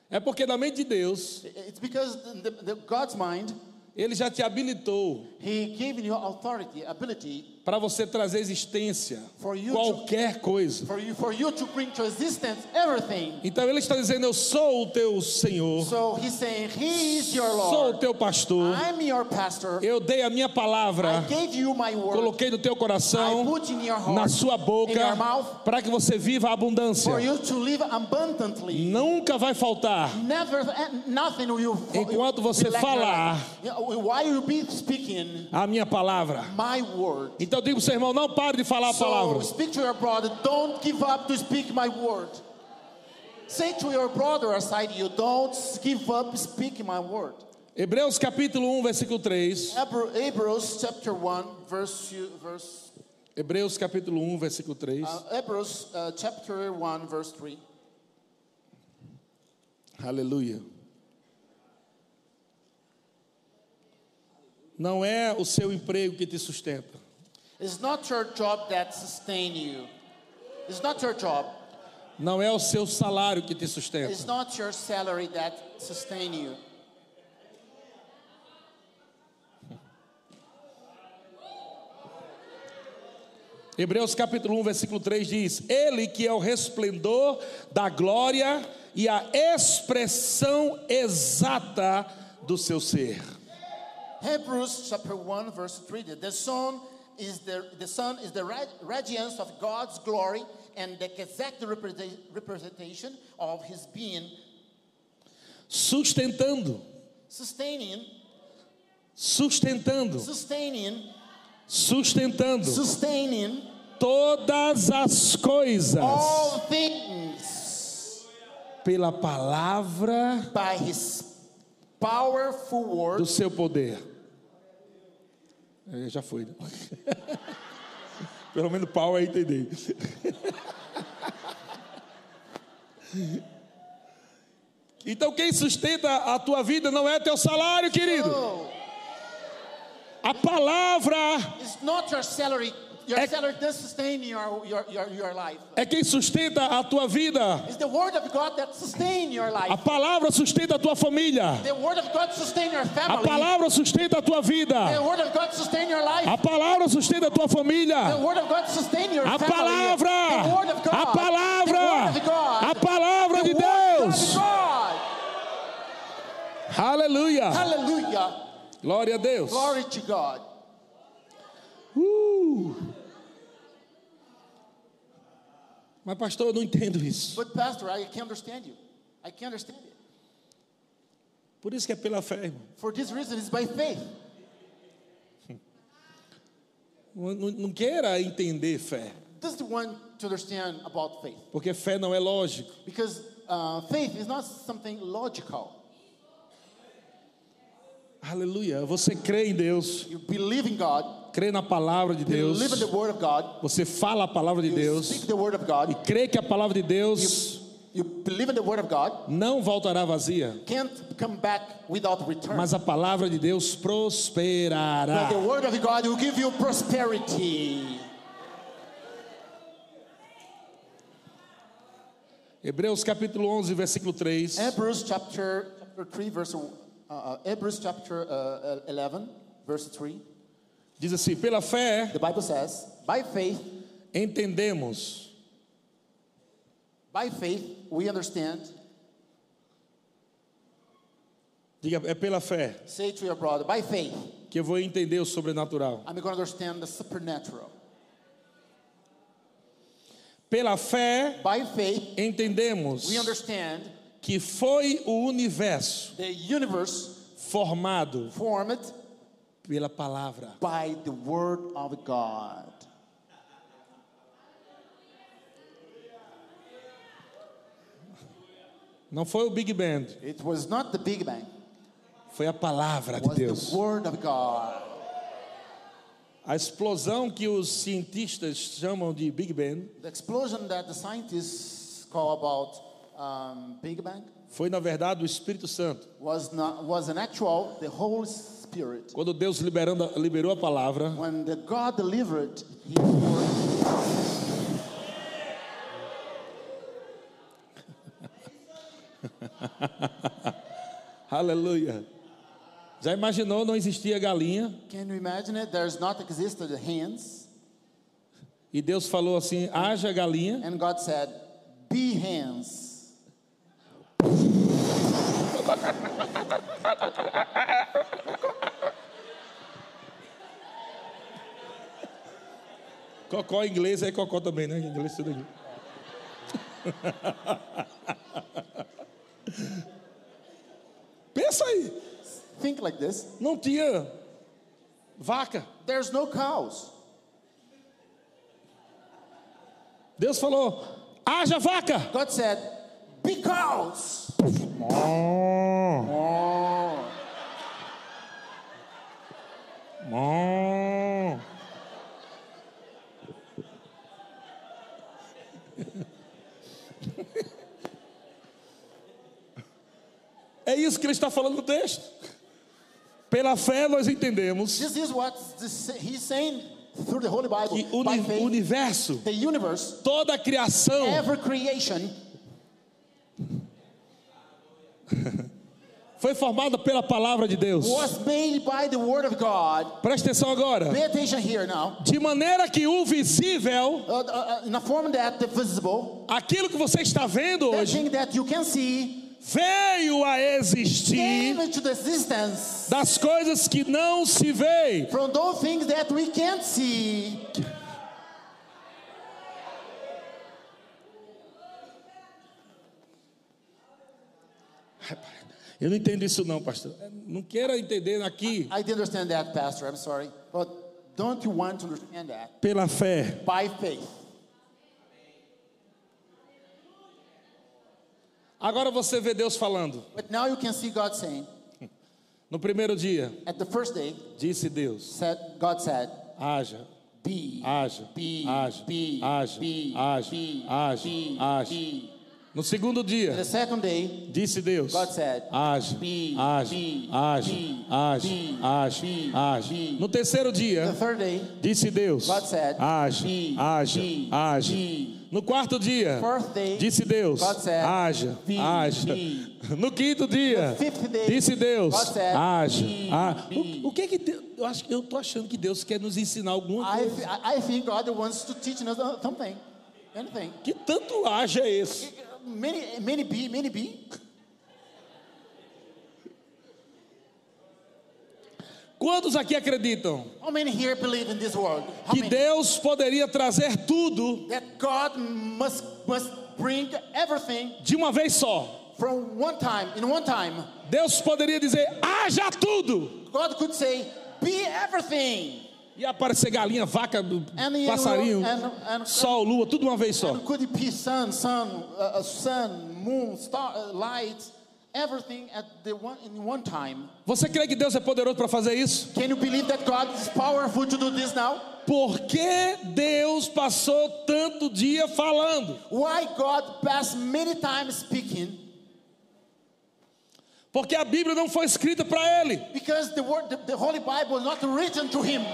É porque na mente de Deus, It's because God's mind, Ele já te habilitou He gave you authority, ability para você trazer existência For you qualquer coisa. for you to bring to existence everything. Então Ele está dizendo: eu sou o teu Senhor, So He's saying, He is your sou o Lord. teu pastor, I'm your pastor. eu dei a minha palavra, I gave you my word. coloquei no teu I coração, put in your heart, na sua in your boca, mouth, para que você viva a abundância. for you to live abundantly. Nunca vai faltar. Nothing will Enquanto você be lacking. falar While you be speaking a minha palavra. my word. Então diga para o seu irmão: não pare de falar a palavra. So speak to your brother, don't give up to speak my word. Say to your brother aside you, don't give up speaking my word. Hebreus capítulo 1, versículo 3. Hebrews chapter 1 verse Hebreus capítulo 1, versículo 3. Hebrews chapter 1 verse 3. Aleluia. Não é o seu emprego que te sustenta. It's not your job that sustain you. It's not your job. Não é o seu salário que te sustenta. It's not your salary that sustain you. Hebreus capítulo 1, versículo 3 diz: Ele que é o resplendor da glória e a expressão exata do seu ser. Hebrews chapter 1 verse 3. The sun is the radiance of God's glory and the exact representation of his being, Sustentando, sustaining todas as coisas all things pela palavra by his powerful word. do seu poder. Já foi, né? Pelo menos pau aí, entendeu? Então quem sustenta a tua vida não é teu salário, querido. A palavra It's not your salary. Your salary does sustain your life. é quem sustenta a tua vida. It's the word of God that sustain your life. A palavra sustenta a tua família. The word of God sustain your A family. palavra sustenta a tua vida. The word of God sustain your life. A palavra sustenta a tua família. The word of God sustain your A family. palavra, The word of God. a palavra, The word of God. a palavra de The word Deus. of God. Aleluia. Hallelujah. Glória a Deus. Glory to God. Mas pastor, eu não entendo isso. But pastor, I can't understand you. I can't understand it. Por isso que é pela fé, irmão. For this reason, it's by faith. Não queira entender fé, Does the one to understand about faith? porque fé não é lógico. Because faith is not something logical. Aleluia. Você crê em Deus, You believe in God. crê na palavra de Deus, Believe in the word of God. você fala a palavra de You Deus speak the word of God. e crê que a palavra de Deus You believe in the word of God. não voltará vazia, Can't come back without return. mas a palavra de Deus prosperará. But the word of God will give you prosperity. Hebreus capítulo 11, versículo 3. Hebrews chapter 3 verse Hebrews chapter 11 verse 3. Diz assim: pela fé The Bible says, by faith we understand. Diga, é pela fé Say to your brother, by faith que eu vou entender o sobrenatural. I'm going to understand the supernatural. Pela fé By faith entendemos we understand que foi o universo the universe formado formed pela palavra. by the word of God. Não foi o Big Bang, It was not the Big Bang. foi a palavra It de was Deus. the word of God. A explosão que os cientistas chamam de Big Bang The explosion that the scientists call about Big Bang foi, na verdade, o Espírito Santo. was an actual the Holy Spirit. Quando Deus liberou a palavra, When the God delivered His word, Aleluia. Já imaginou, não existia galinha? Can you imagine it? There's not existed hens. E Deus falou assim, haja galinha. And God said, be hens. Cocó em inglês é cocó também, né? Em inglês tudo aqui. Pensa aí. Think like this. Não tinha vaca. There's no cows. Deus falou, haja vaca. God said, be cows. É isso que ele está falando no texto. Pela fé nós entendemos This is what he's saying through the Holy Bible. que o By faith, universo, the universe, toda a criação every creation foi formada pela palavra de Deus. was made by the word of God. Presta atenção agora. Pay attention here now. De maneira que o visível, In a form that the visible, aquilo que você está vendo that hoje, thing that you can see, veio a existir came into the existence das coisas que não se veem. from those things that we can't see. Eu não entendo isso não, pastor. Não queira entender aqui. I didn't understand that, Pastor. I'm sorry. But don't you want to understand that? Pela fé. By faith. Agora você vê Deus falando. But now you can see God saying, No primeiro dia, at the first day, disse Deus, God said, haja, be, haja, be, haja, be, haja, be, haja, be, haja, be, haja. be. No segundo dia, The second day, disse Deus, God said, haja, be, haja, be, haja, be, haja, be, haja, be, haja. be. No terceiro the dia, third day, disse Deus, God said, haja, be, haja, be, haja. be. No quarto dia, Fourth day, disse Deus, God said, haja, be, haja. be. No quinto dia, The fifth day, disse Deus, God said, haja, be, haja. be. O que é que Deus, eu estou achando que Deus quer nos ensinar alguma coisa. I think God wants to teach us something. Anything. Que tanto haja é esse? Many be. Quantos aqui acreditam How many here believe in this world? How que many? Deus poderia trazer tudo That God must bring everything de uma vez só? from one time, in one time. Deus poderia dizer, haja tudo. God could say, be everything. E aparecer galinha, vaca, And, passarinho, and sol, lua, tudo de uma vez só. could it be sun, moon, star, light, everything in one time? Você crê que Deus é poderoso para fazer isso? Can you believe that God is powerful to do this now? Por que Deus passou tanto dia falando? Why God passed many times speaking? Porque a Bíblia não foi escrita para ele. Because the Holy Bible is not written to him.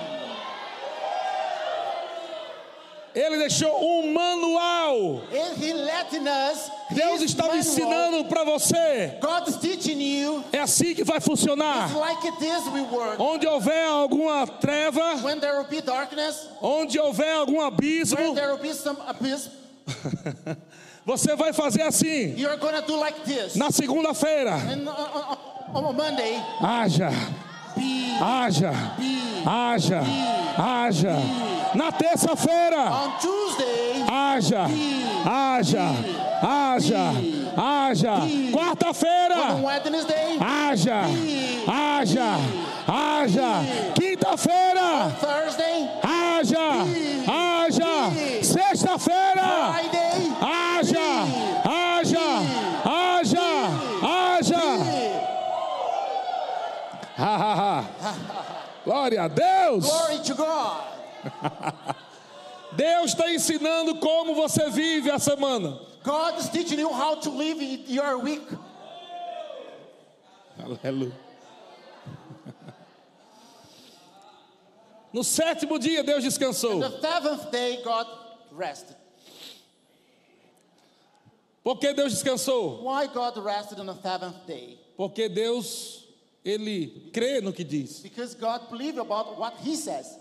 Ele deixou um manual. And he letting us. Deus his estava manual. ensinando para você. God is teaching you. É assim que vai funcionar. It's like it is we work. Onde houver alguma treva, When there will be darkness, onde houver algum when abismo, there will be some abyss, você vai fazer assim. you're gonna do like this. Na segunda-feira, And on Monday, haja, be, haja, be. haja, haja. Na terça-feira, On Tuesday, haja, haja, haja, haja. on Quarta-feira, Wednesday, haja, haja, haja. Quinta-feira, Thursday, haja, haja. Sexta-feira, Friday, haja, haja, haja, haja. Ha, ha, ha. Glória a Deus. glory to God. Deus está ensinando como você vive a semana. God is teaching you how to live your week. Aleluia. No sétimo dia, Deus descansou. The seventh day, God rested. Por que Deus descansou? Why God rested on the seventh day? Porque Deus, Ele crê no que diz. Because God believed about what He says.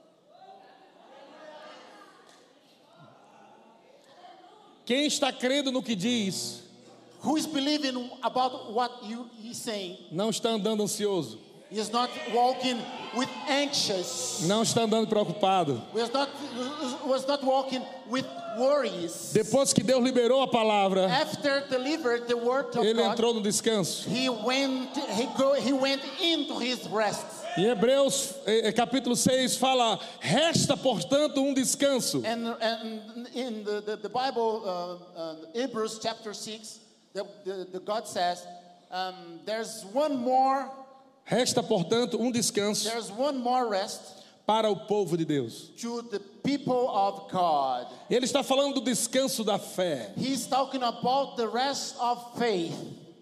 Quem está crendo no que diz, Who is believing about what He's saying? não está andando ansioso, He is not walking with anxious. não está andando preocupado. Was not walking with worries. Depois que Deus liberou a palavra, After delivered the word of ele God, entrou no descanso. he went into his rest. Em Hebreus capítulo 6 fala: resta portanto um descanso. And in the Bible, Hebrews chapter 6, the God says, there's one more. Resta portanto um descanso There's one more rest para o povo de Deus. to the people of God. Ele está falando do descanso da fé. He's talking about the rest of faith.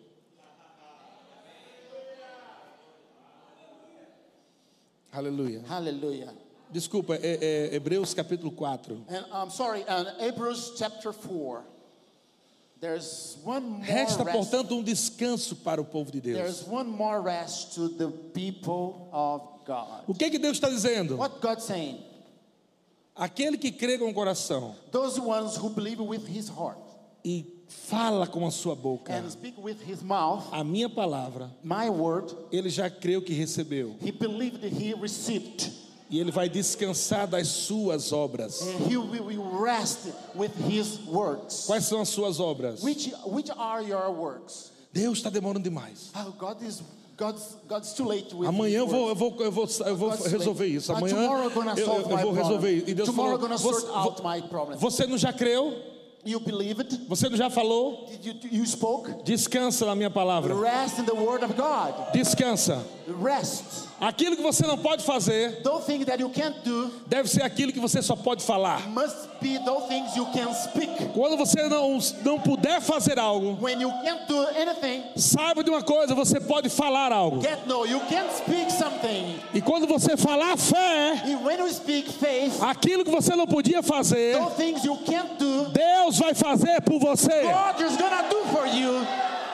Aleluia. Hallelujah. Desculpa, Hebreus capítulo 4. And I'm sorry, Hebrews chapter 4. There's one more Resta rest. portanto um descanso para o povo de Deus. There's one more rest to the people of God. O que Deus está dizendo? What God's saying? Aquele que crê com o coração Those ones who believe with his heart e fala com a sua boca and speak with his mouth, a minha palavra, my word, ele já creu que recebeu. he believed he received. E ele vai descansar das suas obras. And he will rest with his works. Quais são as suas obras? Which are your works? Deus está demorando demais. Oh, God's too late with Amanhã eu his works. vou God's resolver late. isso. Amanhã Tomorrow I'm gonna solve eu my vou resolver problem. isso. E Deus Tomorrow falou: I'm gonna sort out my problem. você não já creu? You believed? Você não já falou? You spoke? Descansa na minha palavra. Rest in the word of God. Descansa. Rest. Aquilo que você não pode fazer Those things that you can't do deve ser aquilo que você só pode falar. must be those things you can speak. Quando você não puder fazer algo, When you can't do anything, saiba de uma coisa: você pode falar algo. you can speak something. E quando você falar fé, And when you speak faith, aquilo que você não podia fazer, those things you can't do, Deus vai fazer por você. God is gonna do for you.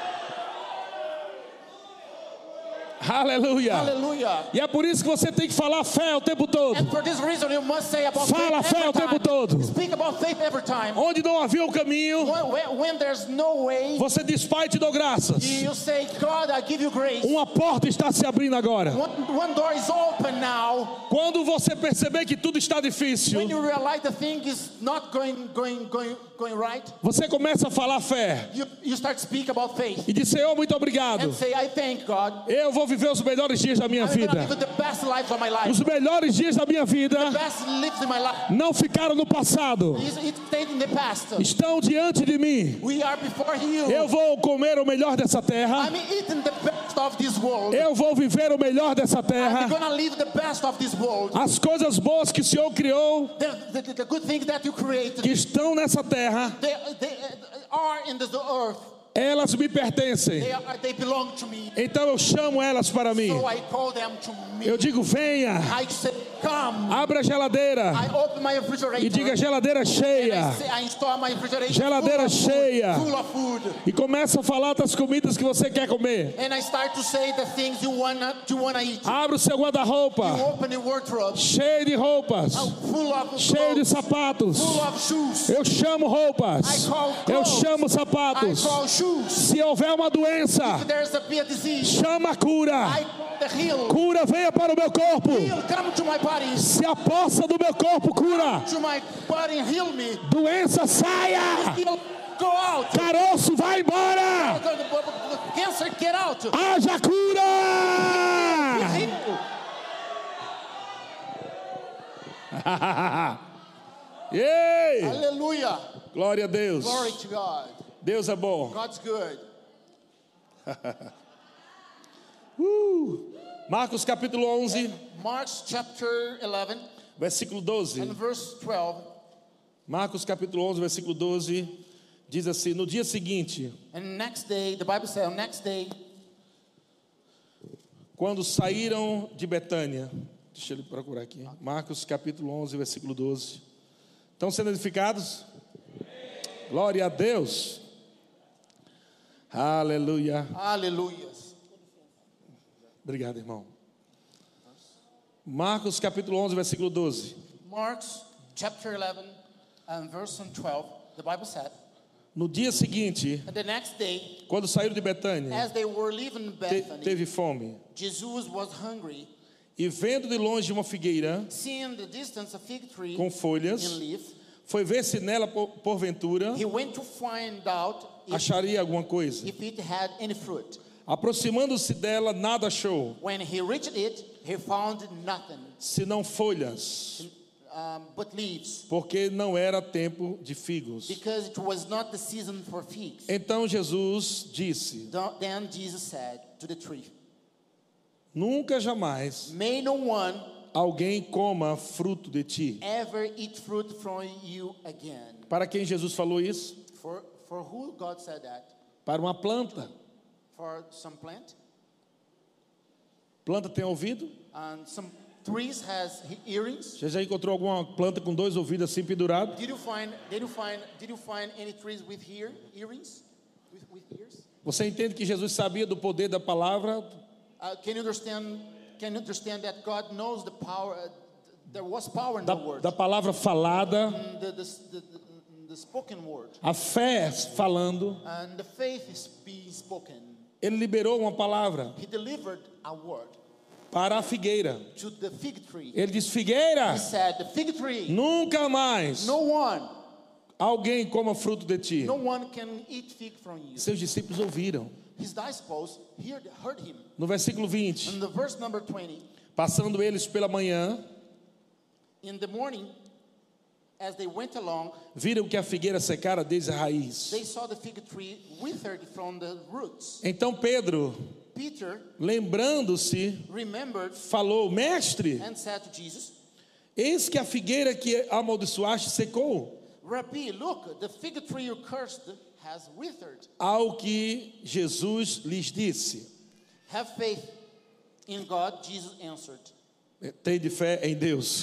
Aleluia. Hallelujah. E é por isso que você tem que falar fé o tempo todo. And for this reason, you must say about Fala faith fé o every tempo time. todo. Speak about faith every time. Onde não havia um caminho, When there's no way, você diz: Pai, te dou graças. you say, God, I give you grace. Uma porta está se abrindo agora. One door is open now. Quando você perceber que tudo está difícil, When you realize the thing is not going right, você começa a falar fé you start to speak about faith e diz: Senhor, muito obrigado. and say, I thank God. Eu vou viver os melhores dias da minha I'm gonna vida. live the best life of my life. Os melhores dias da minha vida Best lives in my life. não ficaram no passado, It stayed in the past. estão diante de mim. We are before you. Eu vou comer o melhor dessa terra. I'm eating the best of this world. Eu vou viver o melhor dessa I'm terra. gonna live the best of this world. As coisas boas que o Senhor criou, The good things that you created, que estão nessa terra, they are in the earth. elas me pertencem. They belong to me. Então eu chamo elas para mim. So I call them to me. Eu digo: venha, I say, come. abra a geladeira I open my refrigerator. e diga: geladeira cheia. I store my refrigerator Geladeira cheia. full of food. E começa a falar das comidas que você quer comer. And I start to say the things you wanna eat. Abra o seu guarda-roupa, You open your wardrobe cheio de roupas, full of cheio de clothes, sapatos. full of shoes. Eu chamo roupas, eu chamo I sapatos. call shoes. Se houver uma doença, If there's a disease, chama a cura. I call the heal. Cura, venha para o meu corpo. Heal, come to my body. Se a poça do meu corpo cura, To my body, heal me. doença saia. Heal, go out. Caroço, vai embora. Cancer, get out. Haja cura. Heal. Ei! Hallelujah. Glória a Deus. Glory to God. Deus é bom. God's good. Marcos capítulo 11, Mark chapter 11 versículo 12. and verse 12. Marcos capítulo 11, versículo 12, diz assim: no dia seguinte, And next day, the Bible says, next day, quando saíram de Betânia, deixa eu procurar aqui, Marcos capítulo 11, versículo 12. Estão sendo edificados? Glória a Deus. Aleluia. Hallelujah. Obrigado, irmão. Marcos capítulo 11, versículo 12. Mark's chapter 11 and verse 12, the Bible said, No dia seguinte, and the next day, quando saíram de Betânia, as they were leaving Bethany, teve fome. Jesus was hungry. E vendo de longe uma figueira Seeing the distance a fig tree com folhas, in leaf, foi ver se nela, porventura, he went to find out acharia alguma coisa. if it had any fruit. Aproximando-se dela, nada achou, When he reached it, he found nothing senão folhas, but leaves, porque não era tempo de figos. because it was not the season for figs. Então Jesus disse: Then Jesus said to the tree, Nunca jamais may no one alguém coma fruto de ti. ever eat fruit from you again. Para quem Jesus falou isso? For who God said that? Para uma planta. For some plant, Planta tem ouvido? and some trees has earrings. Você já encontrou alguma planta com dois ouvidos assim pendurados? Did you find any trees with earrings? With ears? Você entende que Jesus sabia do poder da palavra? Can you understand that God knows the power? There was power in the word. Da palavra falada, The spoken word. a fé falando. And the faith is being spoken. Ele liberou uma palavra He delivered a word para a figueira. to the fig tree. Ele disse: Figueira, He said, the fig tree, nunca mais no one alguém coma fruto de ti. can eat fig from you. Seus discípulos ouviram. His disciples heard him. No versículo 20, In the verse number 20, passando eles pela manhã, in the morning, as they went along, viram que a figueira secara desde a raiz. they saw the fig tree withered from the roots. Então Pedro, Peter lembrando-se, remembered falou: Mestre, and said to Jesus, eis que a figueira que amaldiçoaste secou. Rabbi, look, the fig tree you cursed has withered. Ao que Jesus lhes disse: Have faith in God, Jesus answered. Tende fé em Deus.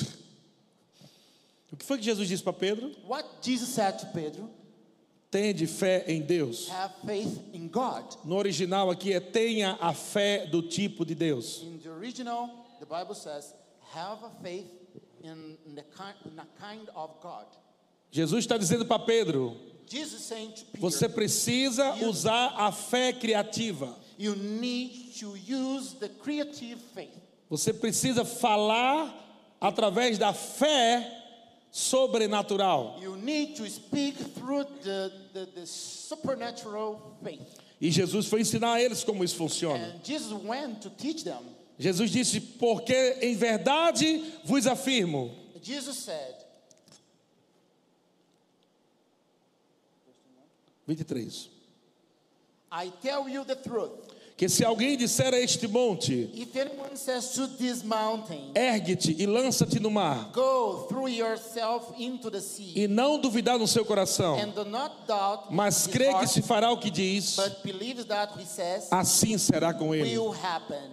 O que foi que Jesus disse para Pedro? What Jesus said to Pedro, Tende fé em Deus. have faith in God. No original aqui é: tenha a fé do tipo de Deus. In the original, the Bible says, have a faith in the kind of God. Jesus está dizendo para Pedro: Jesus saying to Peter, você precisa usar a fé criativa. you need to use the creative faith. Você precisa falar através da fé sobrenatural. You need to speak through the supernatural faith. E Jesus foi ensinar a eles como isso funciona. And Jesus went to teach them. Jesus disse: porque em verdade vos afirmo. Jesus said, 23. I tell you the truth. Que se alguém disser a este monte: If anyone says to this mountain, ergue-te e lança-te no mar, go through yourself into the sea, e não duvidar no seu coração, and do not doubt mas in his crê que heart, se fará o que diz, but believes that he says assim será com ele. will happen.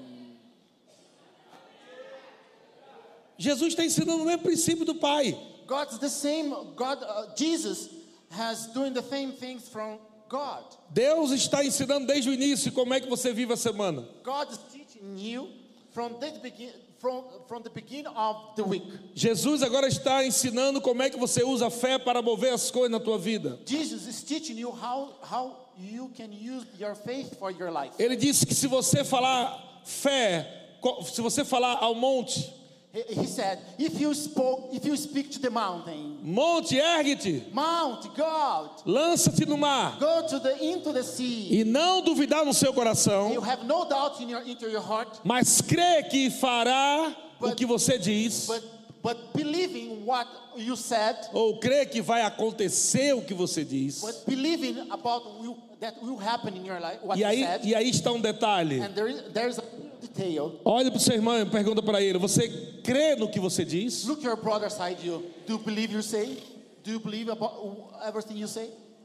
Jesus está ensinando o mesmo princípio do Pai. God's the same. Jesus has doing the same things from God. Deus está ensinando desde o início como é que você vive a semana. God is teaching you from the beginning of the week. Jesus agora está ensinando como é que você usa a fé para mover as coisas na tua vida. Jesus is teaching you how you can use your faith for your life. Ele disse que se você falar fé, se você falar ao monte: He said, if you speak to the mountain, monte, ergue-te, Mount, God, lança-te no mar, go into the sea. e não duvidar no seu You coração, have no doubt into your heart, mas crê que fará o que você diz, but believing what you said, ou crê que vai acontecer o que você diz. but believing about that will happen in your life, what you said. E aí está um detalhe. And there's a detail. Olhe para o seu irmão e pergunta para ele: você crê no que você diz? Look your brother side you. Do you believe you say? Do you believe about everything you say?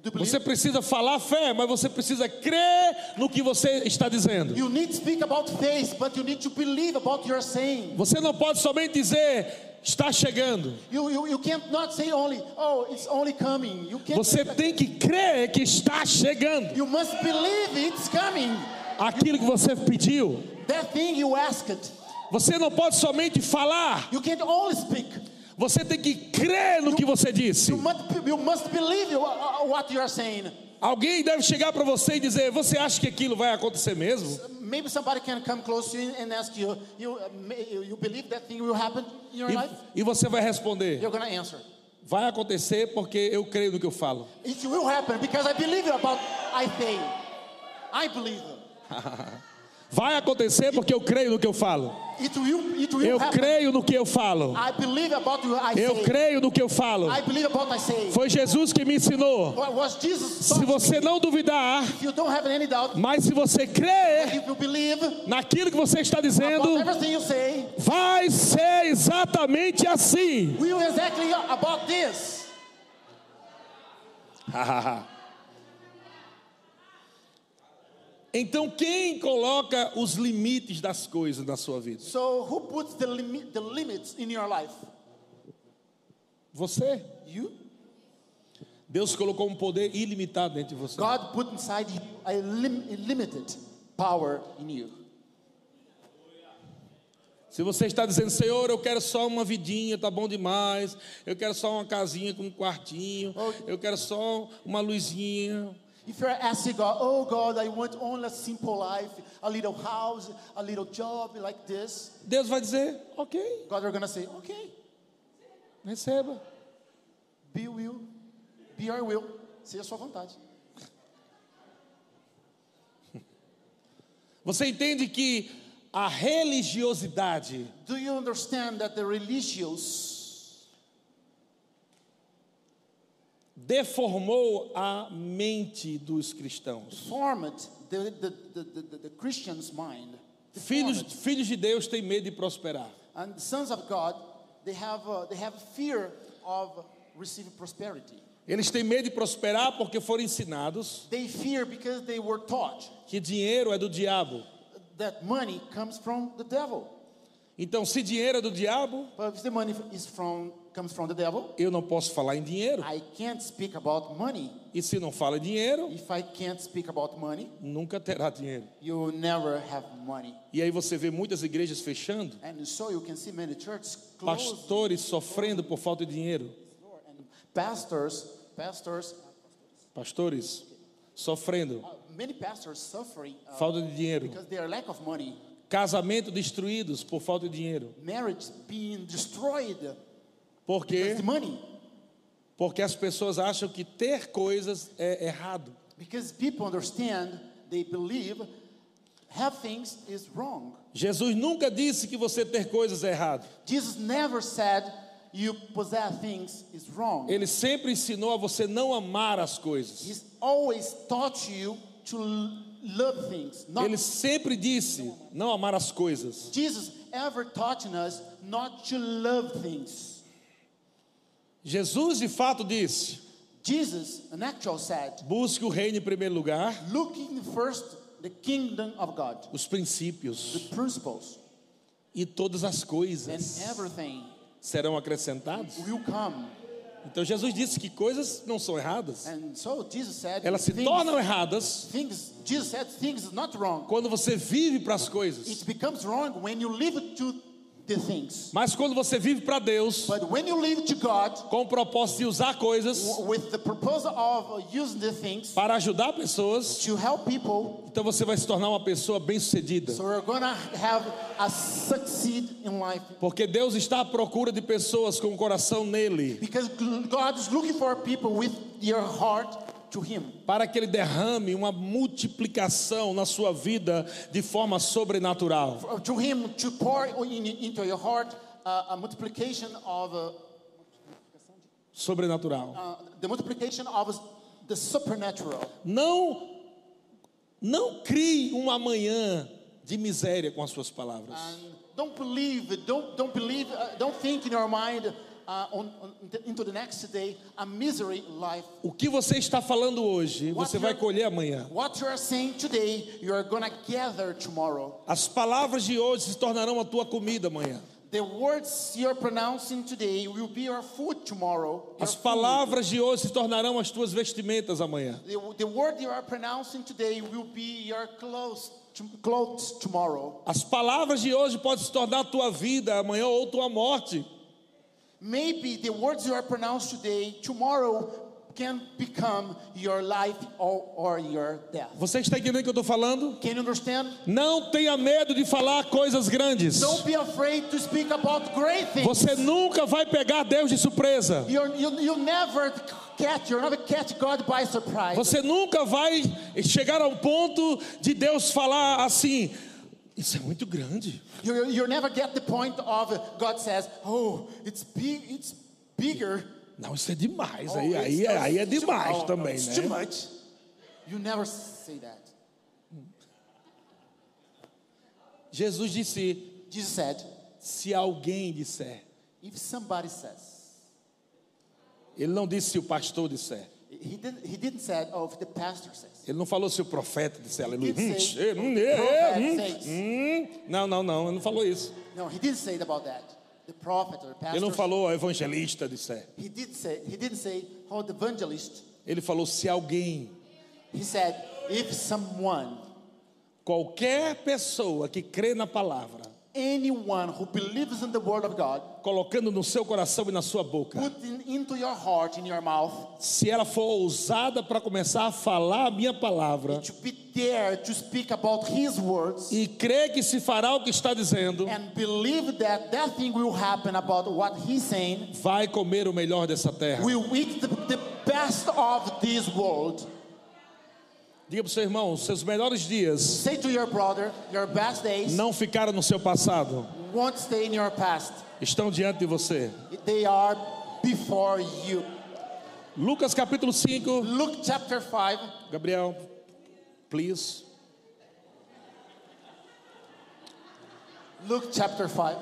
Do you believe? Você precisa falar fé, mas você precisa crer no que você está dizendo. You need to speak about faith, but you need to believe about your saying. Você não pode somente dizer, está chegando. You can't not say only, oh, it's only coming. You can't. Você tem que crer que está chegando. You must believe it's coming. Aquilo que você pediu. That thing you asked. Você não pode somente falar. You can't only speak. Você tem que crer no que você disse. You must believe what you are saying. Alguém deve chegar para você e dizer, você acha que aquilo vai acontecer mesmo? Maybe somebody can come close to you and ask you, you believe that thing will happen in your life? E você vai responder, You're going to answer. vai acontecer porque eu creio no que eu falo. It will happen because I believe about I say. I believe. Vai acontecer porque eu creio no que eu falo. It will Eu happen. creio no que eu falo. I believe about what I Eu say. creio no que eu falo. I believe about what I say. Foi Jesus que me ensinou. What was Jesus Se taught você me. não duvidar, If you don't have any doubt, mas se você crer if you believe naquilo que você está dizendo, about everything you say, vai ser exatamente assim. we will exactly about this. Então quem coloca os limites das coisas na sua vida? So who puts the limits in your life? Você. You? Deus colocou um poder ilimitado dentro de você. God put inside you a limited power in you. Se você está dizendo, Senhor, eu quero só uma vidinha, tá bom demais. Eu quero só uma casinha com um quartinho. Eu quero só uma luzinha. If you're asking God, oh God, I want only a simple life, a little house, a little job like this. Deus vai dizer, ok, God are going to say, okay, receba. be your will, seja a sua vontade. Você entende que a religiosidade Do you understand that the religious deformou a mente dos cristãos? formed the Christian's mind? Filhos de Deus têm medo de prosperar. And the sons of God, they have fear of receiving prosperity. Eles têm medo de prosperar porque foram ensinados They fear because they were taught que dinheiro é do diabo. that money comes from the devil. Então, se dinheiro é do diabo, But if the money comes from the devil, eu não posso falar em dinheiro. I can't speak about money. E se não fala em dinheiro, If I can't speak about money, nunca terá dinheiro. you will never have money. E aí você vê muitas igrejas fechando, And so you can see many churches closed. pastores sofrendo por falta de dinheiro. And pastors, Sofrendo, many pastors suffering falta de dinheiro. because they are lack of money. Casamento destruídos por falta de dinheiro. Marriage being destroyed Por quê? because the money. Porque as pessoas acham que ter coisas é errado. Because people understand, they believe, have things is wrong. Jesus nunca disse que você ter coisas é errado. Jesus never said you possess things is wrong. Ele sempre ensinou a você não amar as coisas. He's always taught you to love things. Not Ele sempre disse não amar as coisas. Jesus ever taught us not to love things. Jesus de fato disse: Jesus, an actual said, busque o reino em primeiro lugar, looking first the kingdom of God, os the princípios principles, e todas as and coisas everything serão acrescentadas. will come. Então Jesus disse que coisas não são erradas. And so Jesus said, Elas se tornam erradas Jesus said things is not wrong. quando você vive para as coisas. It becomes wrong when you live to the things. Mas quando você vive para Deus, But when you live to God com o propósito de usar coisas with the purpose of using the things para ajudar pessoas, to help people, então você vai se tornar uma pessoa bem-sucedida. so we're gonna have a succeed in life. Porque Deus está à procura de pessoas com o coração nele, Because God is looking for people with your heart to Him. para que Ele derrame uma multiplicação na sua vida de forma sobrenatural. To Him to pour into your heart a multiplication of Sobrenatural. the multiplication of the supernatural. Não crie um amanhã de miséria com as suas palavras. And don't think in your mind into the next day a misery life. O que você está falando hoje, você vai colher amanhã. What you are saying today, you are gonna gather tomorrow. As palavras de hoje se tornarão a tua comida amanhã. The words you are pronouncing today will be your food tomorrow. As palavras de hoje se tornarão as tuas vestimentas amanhã. The word you are pronouncing today will be your clothes tomorrow. As palavras de hoje podem se tornar a tua vida amanhã ou tua morte. Maybe the words you are pronouncing today, tomorrow can become your life or your death. Você está entendendo o que eu estou falando? Can you understand? Não tenha medo de falar coisas grandes. Don't be afraid to speak about great things. Você nunca vai pegar Deus de surpresa. You'll never catch God by surprise. Você nunca vai chegar ao ponto de Deus falar assim: isso é muito grande. You'll never get the point of God says, "Oh, it's bigger." Não, isso é demais. Aí é demais também, it's né? Too much. You never say that. Jesus disse: Jesus said, se alguém disser. if somebody says. Ele não disse se o pastor disser. He didn't say, oh, if the pastor says. Ele não falou se o profeta disser. Aleluia. Não, ele não falou isso. No, he didn't say about that. The prophet or pastor. Ele não falou o evangelista disser. He didn't say how the evangelist. Ele falou se alguém. He said, if someone. Qualquer pessoa que crê na palavra. Anyone who believes in the word of God, colocando no seu coração e na sua boca, putting into your heart, in your mouth, se ela for ousada para começar a falar a minha palavra, to be there to speak about His words, e crer que se fará o que está dizendo, and believe that thing will happen about what He's saying, vai comer o melhor dessa terra. Will eat the best of this world. Diga para o seu irmão, seus melhores dias Say to your brother, your best days não ficaram no seu passado, won't stay in your past. estão diante de você. They are before you. Lucas capítulo 5. Luke chapter 5. Gabriel, please. Luke chapter 5.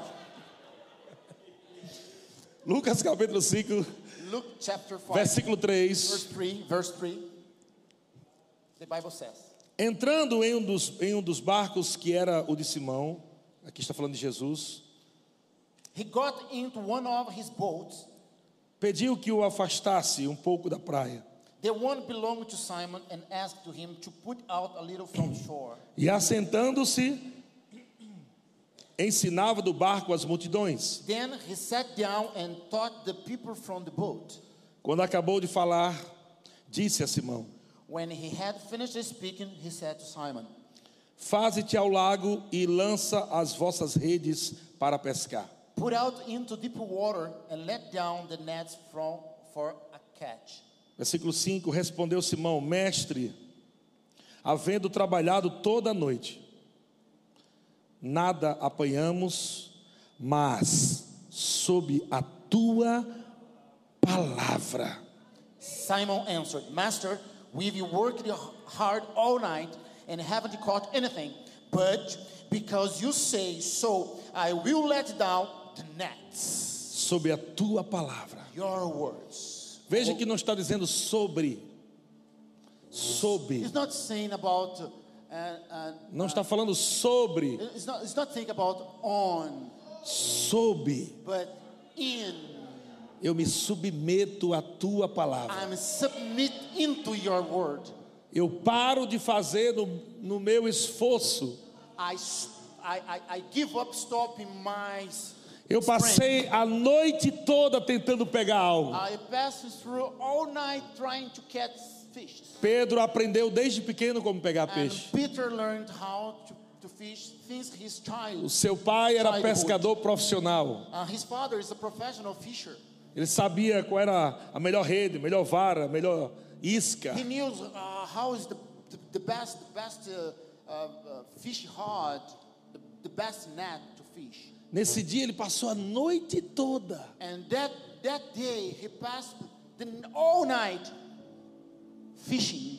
Lucas capítulo 5. Luke chapter 5. Versículo 3. Verse 3. The Bible says. Entrando em um dos barcos que era o de Simão, aqui está falando de Jesus. He got into one of his boats. Pediu que o afastasse um pouco da praia. The one belonged to Simon and asked to him to put out a little from shore. E assentando-se, ensinava do barco as multidões. Then he sat down and taught the people from the boat. Quando acabou de falar, disse a Simão: When he had finished speaking, he said to Simon, faze-te ao lago e lança as vossas redes para pescar. put out into deep water and let down the nets for a catch. Versículo 5, respondeu Simão: mestre, havendo trabalhado toda a noite, nada apanhamos, mas sob a tua palavra. Simon answered, Master, we've worked hard all night and haven't caught anything, but because you say so, I will let down the nets. Sob a tua palavra. Your words. Veja que não está dizendo sobre. It's not saying about. Não está falando sobre. It's not saying about on. Sob. But in. Eu me submeto à tua palavra. I'm submit into your word. Eu paro de fazer no meu esforço. I give up stopping my. Eu passei a noite toda tentando pegar algo. I passed through all night trying to catch fish. Pedro aprendeu desde pequeno como pegar peixe. Peter learned how to fish since his child. O seu pai era pescador profissional. His father is a professional fisher. Ele sabia qual era a melhor rede, melhor vara, melhor isca. He knew how is the best fish rod, the best net to fish. Nesse dia ele passou a noite toda. And that day he passed all night fishing.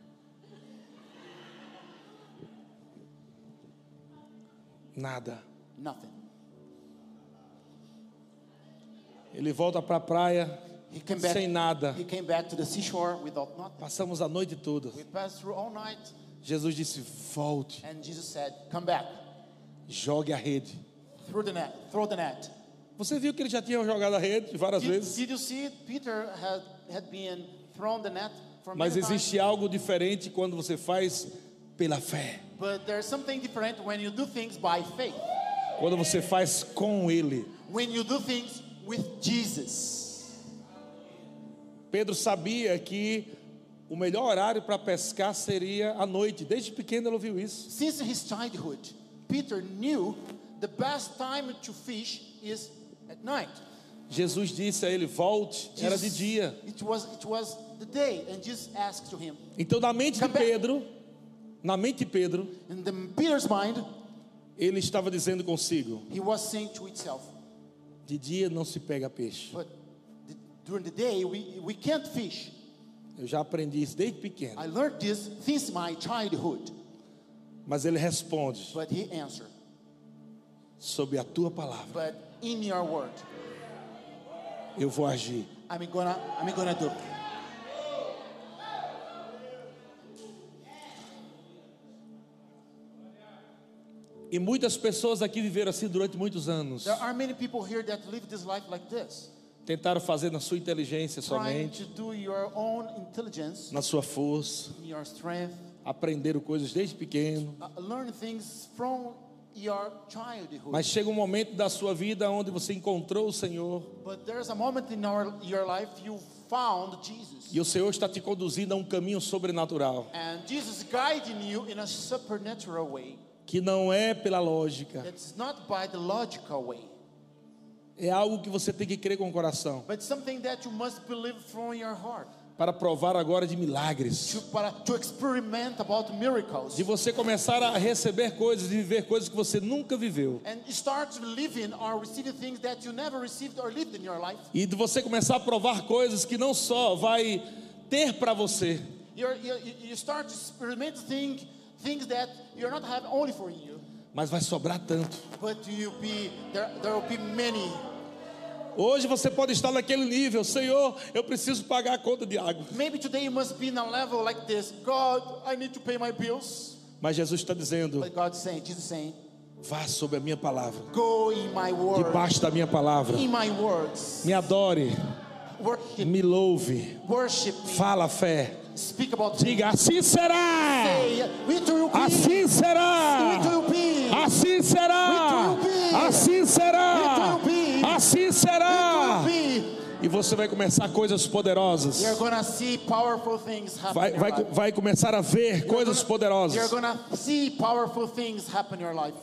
Nada. Nothing. Ele volta para a praia He came back. sem nada. He came back to the seashore without nothing. Passamos a noite toda. We passed through all night, Jesus disse: volte, and Jesus said, "Come back, jogue a rede. through the net, throw the net." Você viu que ele já tinha jogado a rede várias vezes? Did you see Peter had been thrown the net for Mas many times? existe algo diferente quando você faz pela fé. But there's something different when you do things by faith. Quando você faz com Ele. When you do things with Jesus. Pedro sabia que o melhor horário para pescar seria à noite. Desde pequeno ele ouviu isso. Since his childhood, Peter knew the best time to fish is at night. Jesus disse a ele: volte. Era de dia. It was the day, and Jesus asked to him. Então na mente de Pedro, In Peter's mind, ele estava dizendo consigo: he was saying to himself, de dia não se pega peixe. but during the day we can't fish. Eu já aprendi isso desde pequeno. I learned this since my childhood. Mas ele responde: But he answered, sob a tua palavra but in your word, eu vou agir. I'm gonna do. E muitas pessoas aqui viveram assim durante muitos anos. There are many people here that live this life like this, Tentaram fazer na sua inteligência trying somente, to do your own intelligence, na sua força. your strength, Aprenderam coisas desde pequeno. learn things from your childhood. Mas chega um momento da sua vida onde você encontrou o Senhor. But there's a moment in your life you found Jesus. E o Senhor está te conduzindo a um caminho sobrenatural. And Jesus guiding you in a supernatural way. Que não é pela lógica. It's not by the logical way. É algo que você tem que crer com o coração. But something that you must believe from your heart. Para provar agora de milagres. To experiment about miracles. De você começar a receber coisas e viver coisas que você nunca viveu. And start living or receiving things that you never received or lived in your life. E de você começar a provar coisas que não só vai ter para você. You start to experiment things that you're not having only for you. Mas vai sobrar tanto. But there will be many. Hoje você pode estar naquele nível: Senhor, eu preciso pagar a conta de água. Maybe today you must be in a level like this. God, I need to pay my bills. Mas Jesus está dizendo: But Jesus saying, vá sobre a minha palavra. go in my word. Debaixo da minha palavra. In my words. Me adore. Worship. Me louve. Worship me. Fala a fé. Speak about Diga: assim será. Say, it will be. Assim será. It will be. Assim será. It will be. Assim será. It will be. Assim será. It will be. E você vai começar coisas poderosas. You're gonna see powerful things happen in your life. Vai começar a ver coisas You're poderosas. gonna see powerful things happen in your life.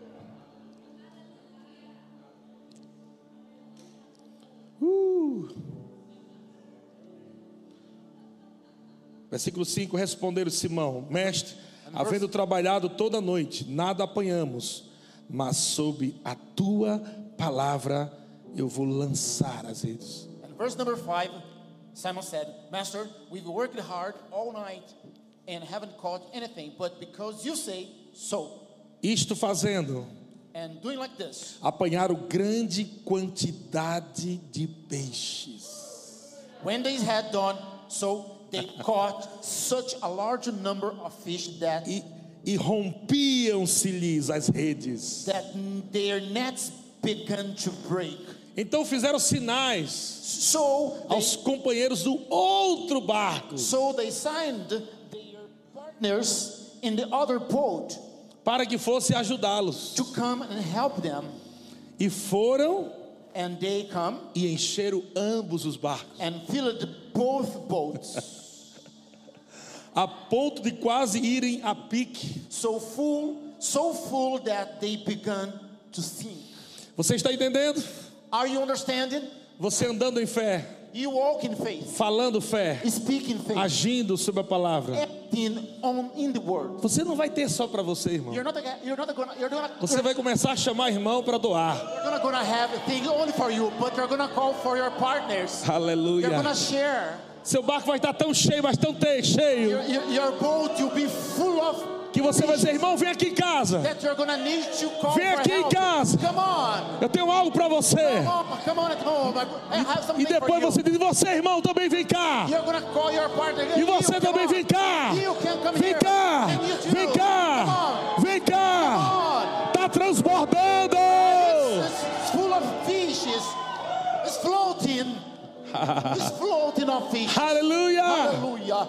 Versículo 5, responderam Simão: mestre, havendo trabalhado toda a noite, nada apanhamos, mas sob a tua palavra eu vou lançar as redes. And verse number 5, Simon said, Master, we've worked hard all night and haven't caught anything, but because you say so. Isto fazendo, And doing like this, apanharam grande quantidade de peixes. when they had done so, they caught such a large number of fish that E rompiam-se-lhes as redes. their nets began to break. Então fizeram sinais So aos companheiros do outro barco, they signed their partners in the other boat para que fosse ajudá-los. to come and help them. E foram And they come e encheram ambos os barcos, and filled both boats. a ponto de quase irem a pique. so full that they began to sink. Você está entendendo? Are you understanding? Você andando em fé, You walk in faith, falando fé, speak in faith, agindo sobre a palavra. acting in the word. Você não vai ter só para você, irmão. You're not Você vai começar a chamar irmão para doar. gonna have things only for you, but you're gonna call for your partners. You're Aleluia. gonna share. Seu barco vai estar tão cheio, mas tão cheio, Your boat will be full of que você vai dizer: irmão, vem aqui em casa. that you're gonna need to call Vem for aqui em help. casa. Come on. Eu tenho algo para você. Come on at home. I have something E depois for you. você diz: você, irmão, também vem cá. You're gonna call your partner. E você também vem cá. You can come Vem here. cá. And you too. Vem cá. Come on. Vem cá. Come on. Tá transbordando. It's full of fishes. It's floating. It's floating of fish. Aleluia. Hallelujah.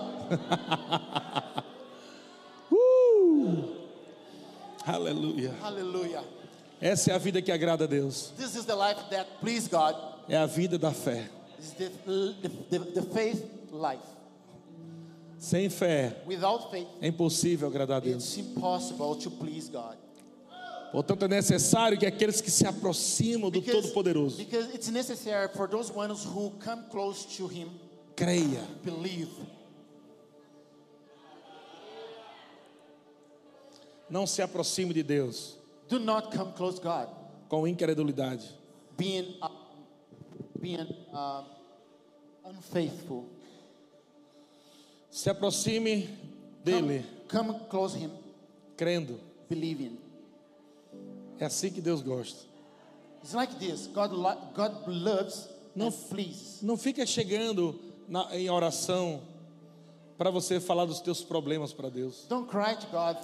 Aleluia. Hallelujah. Essa é a vida que agrada a Deus. This is the life that please God. É a vida da fé. This is the faith life. Sem fé Without faith, é impossível agradar a Deus. it's impossible to please God. Portanto, é necessário que aqueles que se aproximam do Todo-Poderoso Because it's necessary for those ones who come close to Him, creia. believe. Não se aproxime de Deus Do not come close to God, com incredulidade. being unfaithful. Se aproxime dele Come close to Him, crendo. believing. É assim que Deus gosta. It's like this. God loves No. and pleases. Não fica chegando em oração para você falar dos teus problemas para Deus. Don't cry to God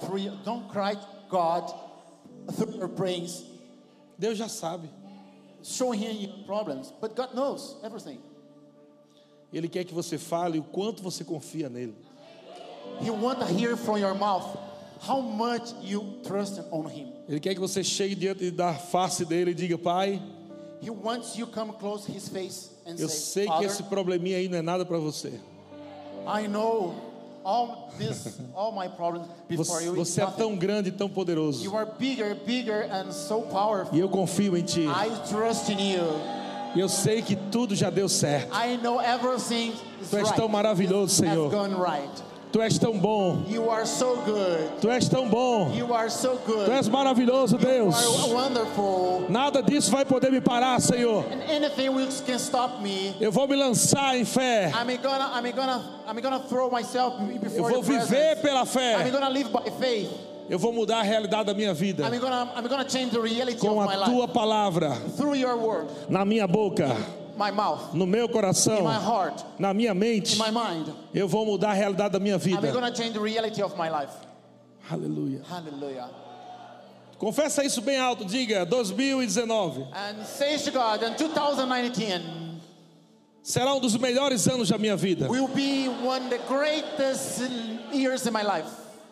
through your prayers, Deus já sabe. showing Him your problems. But God knows everything. Ele quer que você fale o quanto você confia nele. He wants to hear from your mouth how much you trust on Him. Ele quer que você chegue diante da face dele e diga: Pai, He wants you come close to His face and eu say, sei que Father, esse probleminha aí não é nada para você. I know all my problems before you. It's Você é nothing. tão grande e tão poderoso. You are bigger and so powerful. E eu confio em ti. I trust in you. E eu sei que tudo já deu certo. I know everything is Tu és right. tão maravilhoso, Senhor. Has gone right. Tu és tão bom. You are so good. Tu és tão bom. You are so good. Tu és maravilhoso, You Deus. are wonderful. Nada disso vai poder me parar, Senhor. And anything which can stop me, Eu vou me lançar em fé. I'm gonna throw myself Eu before vou your viver presence. pela I'm fé. gonna live by faith. Eu vou mudar a realidade da minha vida I'm gonna change the reality com of my a life tua palavra through your word, na minha boca, my mouth, no meu coração, in my heart, na minha mente. in my mind. Eu vou mudar a realidade da minha I'm vida. gonna change the reality of my life. Aleluia. Hallelujah. Confessa isso bem alto, diga: 2019 And says to God, in 2019 será um dos melhores anos da minha vida. will be one of the greatest years in my life.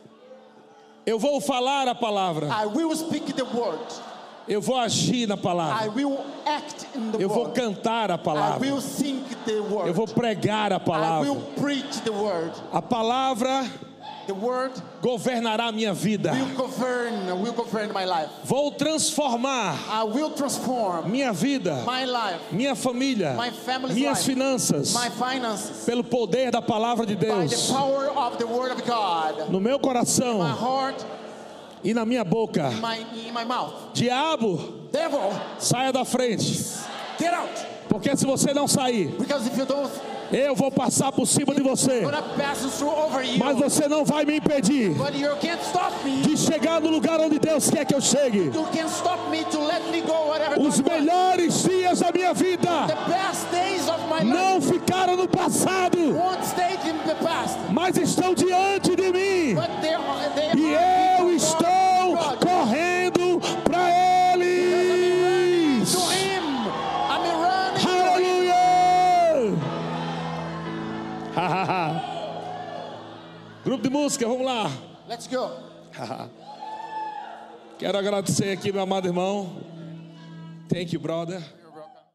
Eu vou falar a palavra. I will speak the word. Eu vou agir na I palavra. will act in the Eu vou word. cantar a I palavra. will sing the word. Eu vou pregar a I palavra. will preach the word. A palavra The word governará a minha vida. will govern my life. Vou transformar I will transform minha vida, my life, minha família, my family's minhas life, finanças, my finances, pelo poder da palavra de by the Deus, power of the word of God. no meu coração My heart, e na minha boca. in my mouth. Diabo, Devil, saia da frente, get out. porque se você não sair, Because if you don't, eu vou passar por cima de você, I'm gonna pass through over you. mas você não vai me impedir But you can't stop me. de chegar no lugar onde Deus quer que eu chegue. You can't stop me to let me go whatever Os God wants. melhores dias da minha vida The best days of my life não ficaram no passado, won't stay in the past. mas estão diante de mim. But they E are eu estou God. correndo para eles. To him. I'm running to him. Aleluia! Grupo de música, vamos lá. Let's go. Quero agradecer aqui, meu amado irmão. Thank you, brother.